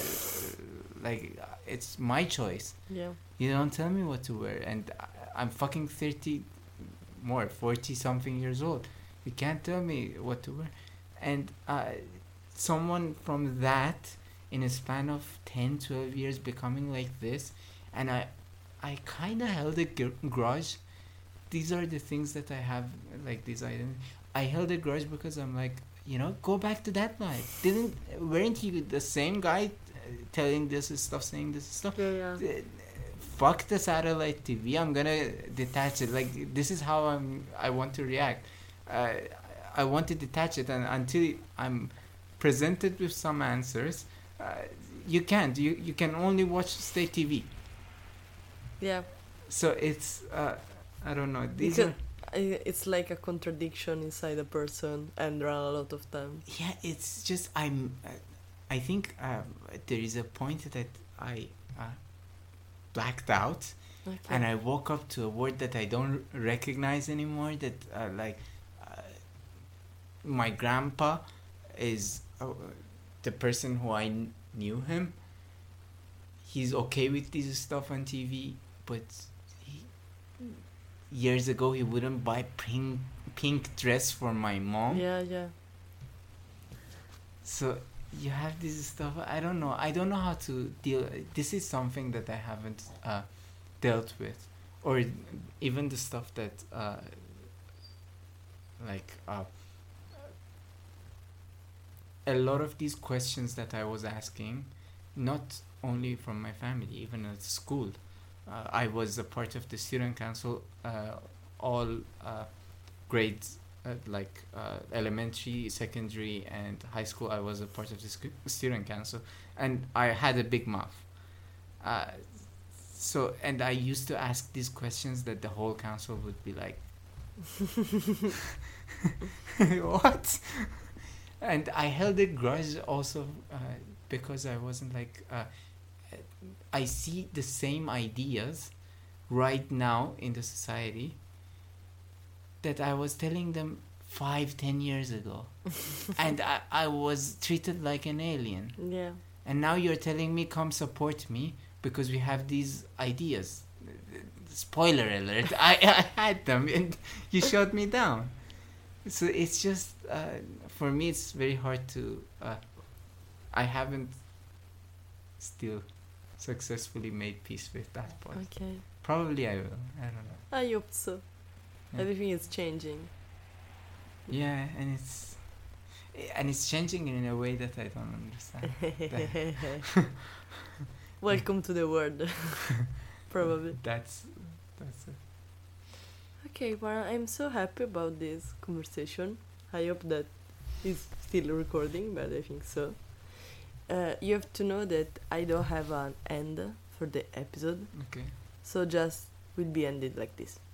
uh, like, it's my choice. Yeah. You don't tell me what to wear, and I, I'm fucking thirty, more, forty something years old. You can't tell me what to wear. And uh, someone from that, in a span of ten, twelve years, becoming like this, and I, I kind of held a gr- grudge. These are the things that I have, like these items. I held a grudge because I'm like, you know, go back to that night. Didn't, weren't you the same guy uh, telling this stuff, saying this stuff? Yeah, yeah. Uh, fuck the satellite T V. I'm gonna detach it. Like, this is how I'm. I want to react. Uh, I want to detach it, and until I'm presented with some answers, uh, you can't. You you can only watch state T V. Yeah. So it's uh, I don't know. These because are, it's like a contradiction inside a person, and there are a lot of them. Yeah, it's just I'm. Uh, I think uh, there is a point that I uh, blacked out, okay. And I woke up to a word that I don't recognize anymore. That uh, like. My grandpa is uh, the person who I kn- knew him. He's okay with this stuff on T V, but he, years ago he wouldn't buy pink pink dress for my mom. Yeah, yeah. So you have this stuff. I don't know. I don't know how to deal. This is something that I haven't uh, dealt with, or even the stuff that uh, like. Uh, A lot of these questions that I was asking, not only from my family, even at school. Uh, I was a part of the student council, uh, all uh, grades, uh, like uh, elementary, secondary, and high school. I was a part of the sc- student council, and I had a big mouth. Uh, so, and I used to ask these questions that the whole council would be like, what? And I held a grudge also uh, because I wasn't like, uh, I see the same ideas right now in the society that I was telling them five, ten years ago. And I, I was treated like an alien. Yeah. And now you're telling me, come support me because we have these ideas. Spoiler alert, I, I had them and you shut me down. So it's just, uh, for me, it's very hard to, uh, I haven't still successfully made peace with that part. Okay. Probably I will, I don't know. I hope so. Yeah. Everything is changing. Yeah, and it's, and it's changing in a way that I don't understand. Welcome to the world. Probably. That's, that's it. Okay, well, I'm so happy about this conversation. I hope that it's still recording, but I think so. Uh, you have to know that I don't have an end for the episode, Okay. so just will be ended like this.